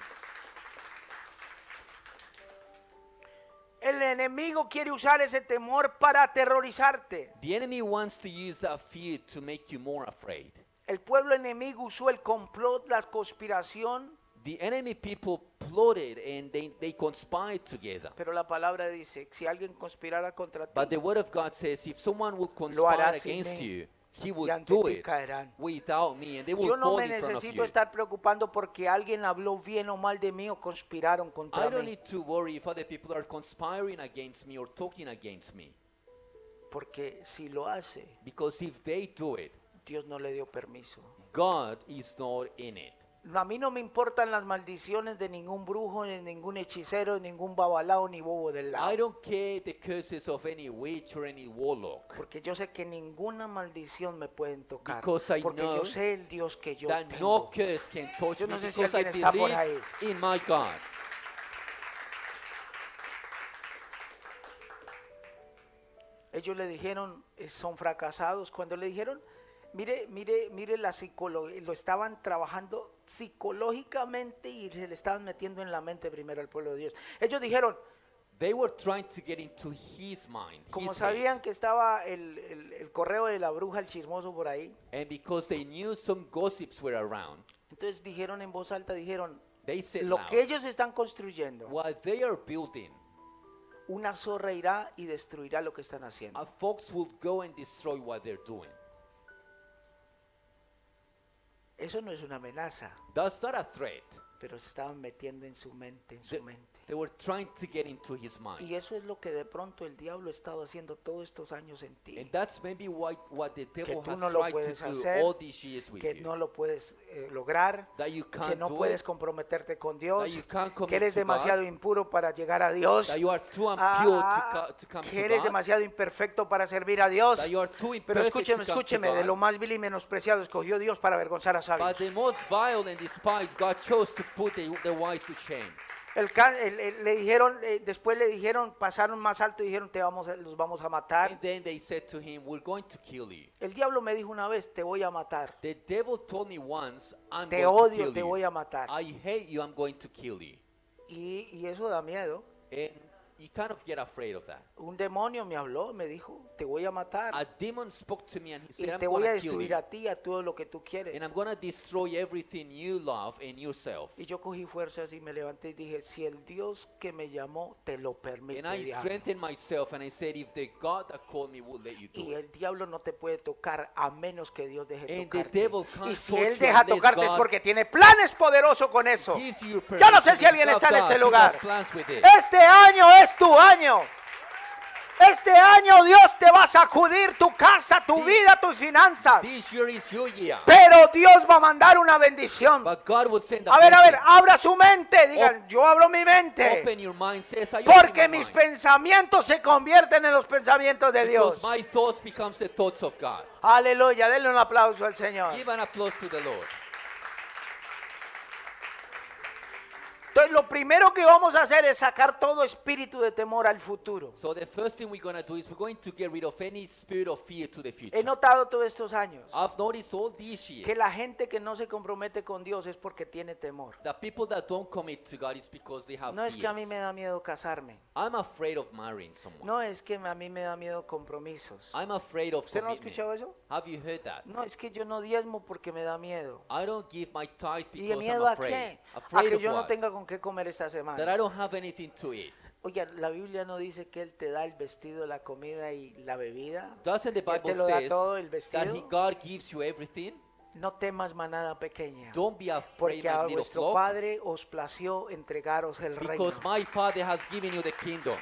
El enemigo quiere usar ese temor para aterrorizarte. The enemy wants to use that fear to make you more afraid. El pueblo enemigo usó el complot, la conspiración, The enemy people plotted and they conspired together. pero la palabra dice, si alguien conspirara contra ti, But the word of God says if someone will Lo hará conspire sin against mí, you, he y would ante do ti it caerán. without me and they will Yo no fall me in front of necesito you. estar preocupando porque alguien habló bien o mal de mí o conspiraron contra I don't mí. need to worry if other people are conspiring against me or talking against me. Porque si lo hace, Because if they do it, Dios no le dio permiso. God is not in it. A mí no me importan las maldiciones de ningún brujo, ni ningún hechicero, ni ningún babalao, ni bobo del I lado. don't care the curses of any witch or any warlock. Porque yo sé que ninguna maldición me pueden tocar. Because I Porque know yo sé el Dios que yo That tengo. no curse can touch Yo me no sé si because I alguien está por believe ahí. in my God. Ellos le dijeron, son fracasados. Cuando le dijeron, mire la psicología, lo estaban trabajando psicológicamente y se le estaban metiendo en la mente primero al pueblo de Dios. Ellos dijeron, They were trying to get into his mind, como his sabían head. que estaba el correo de la bruja, el chismoso por ahí, And because they knew some gossips were around, Entonces dijeron en voz alta, dijeron, They said lo loud, que ellos están construyendo, what they are building, una zorra irá y destruirá lo que están haciendo. a fox will go and destroy what they're doing. Eso no es una amenaza, That's not a threat. pero se estaban metiendo en su mente, en They, su mente. they were trying to get into his mind. Y eso es lo que de pronto el diablo ha estado haciendo todos estos años en ti. And that's maybe what the devil tú has no lo tried puedes to do hacer, all these years with Que you. no lo puedes lograr, That you que can't no do puedes it, comprometerte con Dios, you can't commit que eres to demasiado God, impuro para llegar a Dios, that you are too impure to come que to eres God, demasiado imperfecto para servir a Dios. that you are too Pero imperfect escúcheme, to come to escúcheme, de God. lo más vil y menospreciado escogió Dios para avergonzar a But sabios. the most vile and despised, God chose to put the wise to shame. Le dijeron, después le dijeron, pasaron más alto y dijeron, los vamos a matar. And then they said to him, we're going to kill you. El diablo me dijo una vez, te voy a matar. The devil told me once, I'm Te going to odio, kill te you. voy a matar. I hate you, I'm going to kill you. Y eso da miedo. And you kind of get afraid of that. Un demonio me habló, me dijo, te voy a matar. A demon spoke to me and he Y said, I'm te voy a going to kill destruir you. a ti, a todo lo que tú quieres. And I'm going to destroy everything you love and yourself. Y yo cogí fuerzas y me levanté y dije, si el Dios que me llamó te lo permite, And I diablo. strengthened myself and I said, if the God that called me will let you Y do it. el diablo no te puede tocar a menos que Dios deje And the tocarte. devil can't Y si touch él you deja unless tocarte es God porque tiene planes poderosos con eso. Gives you Yo no sé permission. si alguien God está en does. este He lugar. has plans with it. Este año es tu año. Este año Dios te va a sacudir tu casa, tu vida, tus finanzas. This year is your year. Pero Dios va a mandar una bendición. But God will send a A ver, blessing. abra su mente. Digan, yo abro mi mente. Open your mind, says I Porque open my mis mind. pensamientos se convierten en los pensamientos de Dios. Because my thoughts becomes the thoughts of God. Aleluya, denle un aplauso al Señor. Give an applause to the Lord. Entonces lo primero que vamos a hacer es sacar todo espíritu de temor al futuro. So the first thing we're going to do is we're going to get rid of any spirit of fear to the future. He notado todos estos años I've noticed all these years que la gente que no se compromete con Dios es porque tiene temor. that people that don't commit to God is because they have No es que a mí fears. me da miedo casarme. I'm afraid of marrying someone. No es que a mí me da miedo compromisos. I'm afraid of ¿Usted no ha commitment. escuchado eso? Have you heard that? No, es que yo no diezmo porque me da miedo. I don't give my tithe ¿Y de because miedo I'm a afraid. qué? A Afraid que of yo no what? tenga con qué comer esta That I semana. don't have anything to eat. Oye, la Biblia no dice que Él te da el vestido, la comida y la bebida. Doesn't the Él te Bible lo da says todo, el that vestido. God gives you everything? No temas manada pequeña. Don't be afraid, Porque a my little vuestro flock, Padre os plació entregaros el reino. because my Father has given you the kingdom.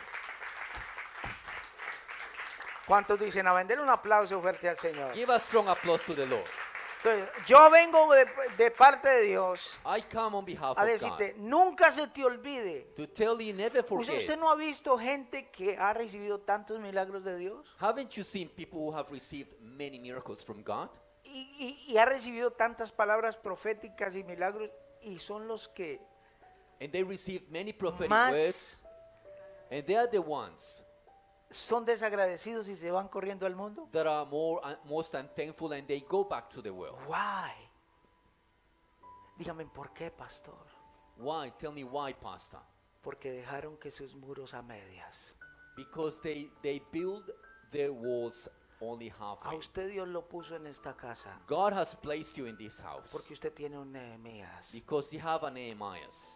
¿Cuántos dicen a vender un aplauso fuerte al Señor? Give a strong applause to the Lord. Entonces, yo vengo de parte de Dios I come on behalf a of decirte, God nunca se te olvide. to tell you never forget. ¿Usted no ha visto gente que ha recibido tantos milagros de Dios? Haven't you seen people who have received many miracles from God? Y ha recibido tantas palabras proféticas y milagros y son los que And they received many prophetic Más- words. And they are the ones son desagradecidos y se van corriendo al mundo. that are most unthankful and they go back to the world. Why? Dígame, ¿por qué, pastor? Why? Tell me why, Pastor. Porque dejaron que sus muros a medias. Because they build their walls only A halfway. usted Dios lo puso en esta casa God has placed you in this house porque usted tiene un Nehemías. because you have a Nehemiahs.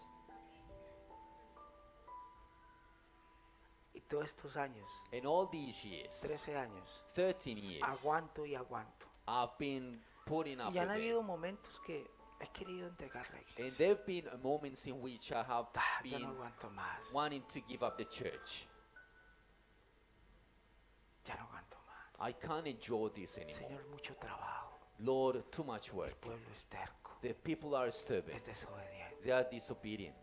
Y todos estos años, In all these years, 13 años, 13 years, aguanto y aguanto. I've been putting up Y han with habido it. momentos que he querido entregar la And iglesia. there have been moments in which I have Ya no been aguanto más. wanting to give up the church. Ya no aguanto más. I can't enjoy this anymore. Señor, mucho trabajo. Lord, too much El work. pueblo es terco. The people are stubborn. Es desobediente. They are disobedient.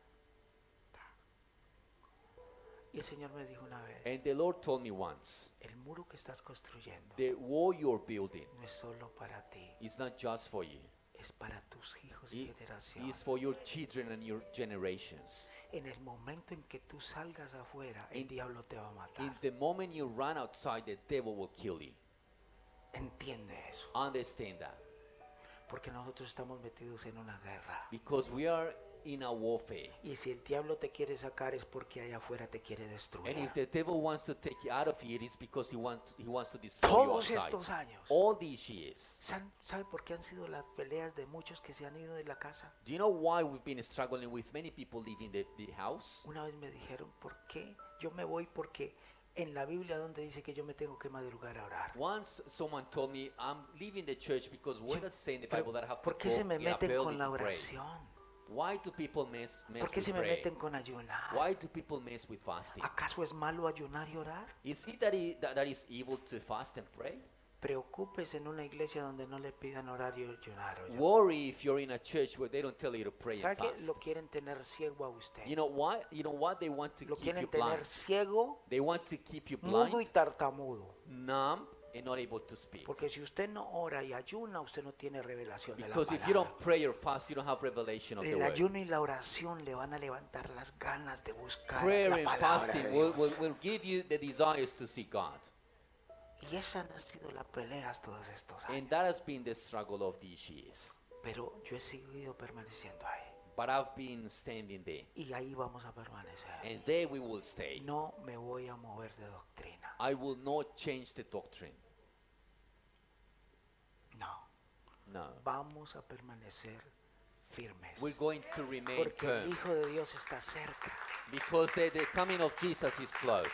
Y el Señor me dijo una vez, And the Lord told me once, el muro que estás construyendo the wall you're building no es solo para ti, is not just for you. es para tus hijos y It generaciones. is for your children and your generations. En el momento en que tú salgas afuera, el In- diablo te va a In matar. the moment you run outside, the devil will kill you. Entiende eso. Understand that. Porque nosotros estamos metidos en una guerra. Because we are in a warfare. Y si el diablo te quiere sacar es porque allá afuera te quiere And destruir. if the devil wants to take you out of here, it's because he wants to destroy you Todos outside. estos años. All these years. ¿Sabe por qué han sido las peleas de muchos que se han ido de la casa? Do you know why we've been struggling with many people leaving the house? Una vez me dijeron, ¿por qué? Yo me voy porque en la Biblia donde dice que yo me tengo que madrugar a orar. Once someone told me, I'm leaving the church because where does it say in the Pero, Bible that I have to ¿por qué go se me in a meten early con la to pray? oración? Why do people mess ¿Por qué with se me prayer? meten con ayunar? Why do people mess with fasting? ¿Acaso es malo ayunar y orar? Is it that is evil to fast and pray? Preocúpese en una iglesia donde no le pidan orar y ayunar. oye. Worry if you're in a church where they don't tell you to pray ¿Sabe and que fast. lo quieren tener ciego a usted? You know why? You know what they want to Lo keep quieren you blind. tener ciego, They want to keep you mudo y blind, tartamudo. numb, and not able to speak. Porque si usted no ora y ayuna, usted no tiene revelación de la Because if you don't palabra. pray or fast, you don't have revelation of the El word. ayuno y la oración le van a levantar las ganas de buscar Prayer la and palabra fasting de will, Dios. will give you the desires to see God. Y esas han sido las peleas todos estos años. And that has been the struggle of these years. Pero yo he seguido permaneciendo ahí. But I've been standing there. Y ahí vamos a permanecer. And there we will stay. No me voy a mover de doctrina. I will not change the doctrine. No. No. Vamos a permanecer firmes. We're going to remain Porque el firm. Hijo de Dios está cerca. Because the coming of Jesus is close.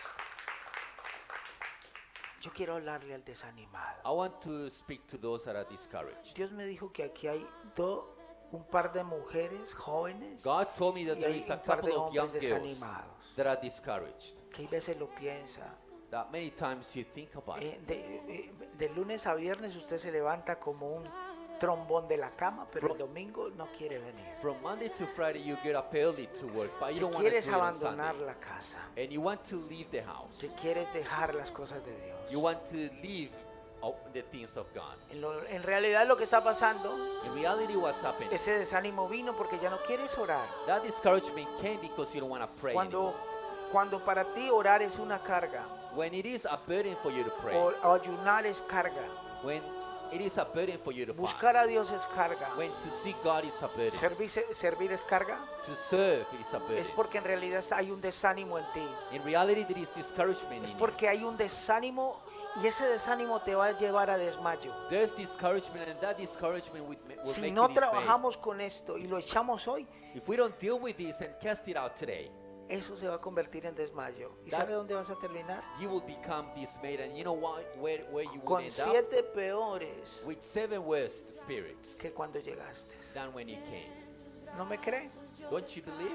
Yo quiero hablarle al desanimado. I want to speak to those that are discouraged. Dios me dijo que aquí hay un par de mujeres jóvenes God told me that y there hay is a un par de couple of young hombres girls desanimados. that are discouraged. Que a veces lo piensa. That many times you think about it. De lunes a viernes usted se levanta como un trombón de la cama, pero el domingo no quiere venir. From Monday to Friday you get up early to work, but you Que don't want to do quieres it on abandonar Sunday. la casa. And you want to leave the house. Que quieres dejar las cosas de Dios. You want to leave the things of God. En realidad lo que está pasando, In reality, what's happening? ese desánimo vino porque ya no quieres orar. That discouragement came because you don't want to pray anymore. Cuando para ti orar es una carga, When it is a burden for you to pray, o ayunar es carga, when it is a burden for you to buscar a fast, Dios es carga, when to seek God is a burden, servir es carga, to serve is a burden. es porque en realidad hay un desánimo en ti. In reality, there is discouragement Es in you. porque hay un desánimo y ese desánimo te va a llevar a desmayo. There's discouragement, and that discouragement will Si make no you dismay. trabajamos con esto y lo echamos hoy, If we don't deal with this and cast it out today, eso se va a convertir en desmayo. ¿Y That- sabe dónde vas a terminar? you will become dismayed, and you know what? Where you will Con end up 7 peores with 7 worst spirits que cuando llegaste. than when you came. ¿No me cree? Don't you believe?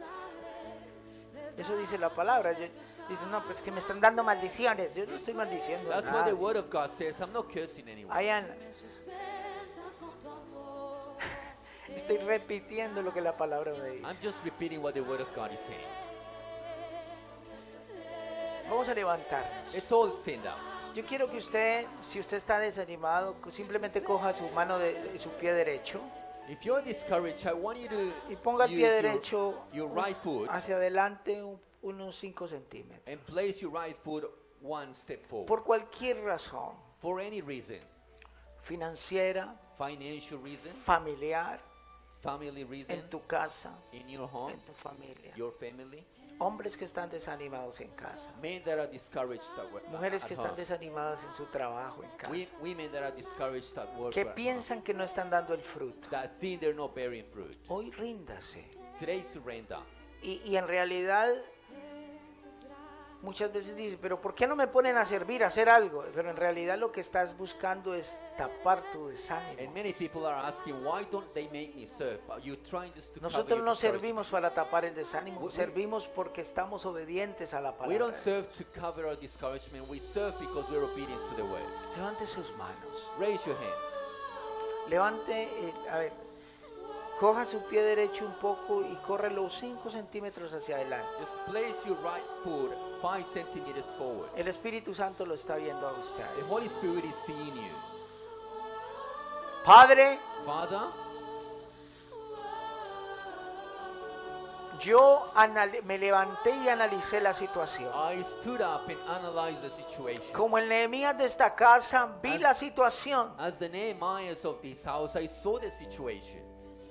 Eso dice la palabra. Dice, no, pues que me están dando maldiciones. Yo no estoy maldiciendo That's what nada. the Word of God says. I'm not cursing anyone. Estoy repitiendo lo que la palabra me I'm dice. just repeating what the Word of God is saying. Vamos a levantarnos. Let's all stand up. Yo quiero que usted, si usted está desanimado, simplemente coja su mano de su pie derecho If you're discouraged, I want you to y ponga el use pie derecho your right foot hacia adelante unos 5 centímetros. and place your right foot one step forward. Por cualquier razón, For any reason, financiera, financial reason, familiar, family reason, en tu casa, in your home, en tu familia. your family, Hombres que están desanimados en casa. men that are discouraged at work, Mujeres at que están home. desanimadas en su trabajo en casa. Women that are discouraged at work, Que at home, piensan que no están dando el fruto. that think they're not bearing fruit. Hoy ríndase. Today is surrender. Y en realidad muchas veces dices, pero ¿por qué no me ponen a servir, a hacer algo? Pero en realidad lo que estás buscando es tapar tu And desánimo. many people are asking, why don't they make me serve? But you're trying just to cover Nosotros your no discouragement. servimos para tapar el desánimo, We- servimos porque estamos obedientes a la We palabra. don't serve to cover our discouragement. We serve because we're obedient to the word. Levante sus manos. Raise your hands. Levante, a ver, coja su pie derecho un poco y córrelo 5 centímetros hacia adelante. Just place your right foot 5 centimeters forward. El Espíritu Santo lo está viendo a usted. The Holy Spirit is seeing you. Padre, Father, Yo me levanté y analicé la situación. I stood up and analyzed the situation. Como el Nehemías de esta casa, vi la situación. As the Nehemiahs of this house, I saw the situation.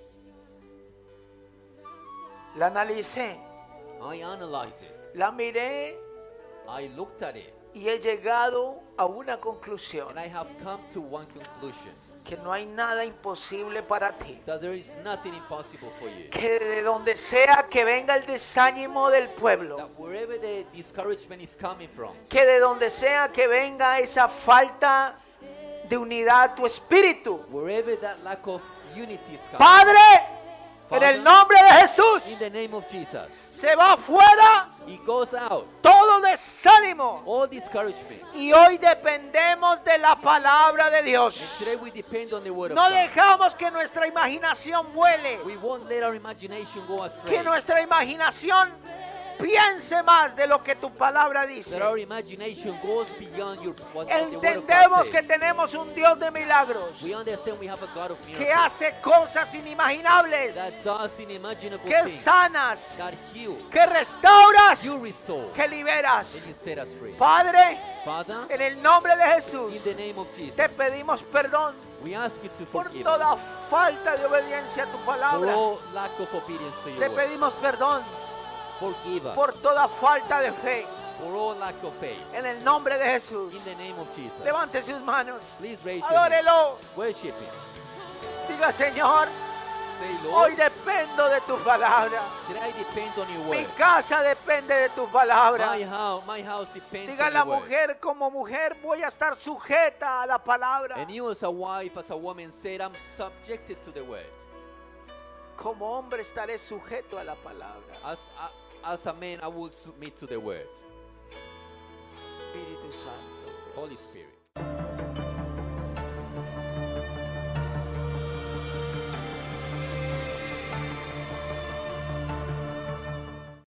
La analicé, I analyzed it. la miré I looked at it. y he llegado a una conclusión. And I have come to one conclusion. Que no hay nada imposible para ti. That there is nothing impossible for you. Que de donde sea que venga el desánimo del pueblo. That wherever the discouragement is coming from. Que de donde sea que venga esa falta de unidad tu espíritu. Wherever that lack of unity is coming. Padre, en el nombre de In Jesús, the name of Jesus. se va afuera It goes out. todo desánimo. All discouragement. Y hoy dependemos de la palabra de And Dios. today we depend on the word No of God. dejamos que nuestra imaginación vuele. We won't let our imagination go astray. Que nuestra imaginación piense más de lo que tu palabra dice. That our imagination goes beyond what the word of God Entendemos que says. tenemos un Dios de milagros. We understand we have a God of Que miracles. hace cosas inimaginables. That does unimaginable Que things. sanas. That heal. Que restauras. You restore. Que liberas. And you set us free. Padre, Father, en el nombre de in Jesús, the name of Jesus, te pedimos perdón we ask you to por forgive toda us falta de obediencia a tu for palabra. all lack of obedience to Te your word. pedimos perdón Forgive us por toda falta de fe. for all lack of faith. En el nombre de Jesús. In the name of Jesus. Levante sus manos. Please raise your hands. Adórelo. Worship Him. Diga, Señor, Say, hoy Lord, dependo de tu palabra. today I depend on your Mi word. casa depende de tu palabra. My house depends Diga on la your word. mujer, como mujer voy a estar sujeta a la palabra. And you as a wife, as a woman, said, I'm subjected to the word. Como hombre estaré sujeto a la palabra. As a man, I will submit to the word. Espíritu Santo. Holy Spirit.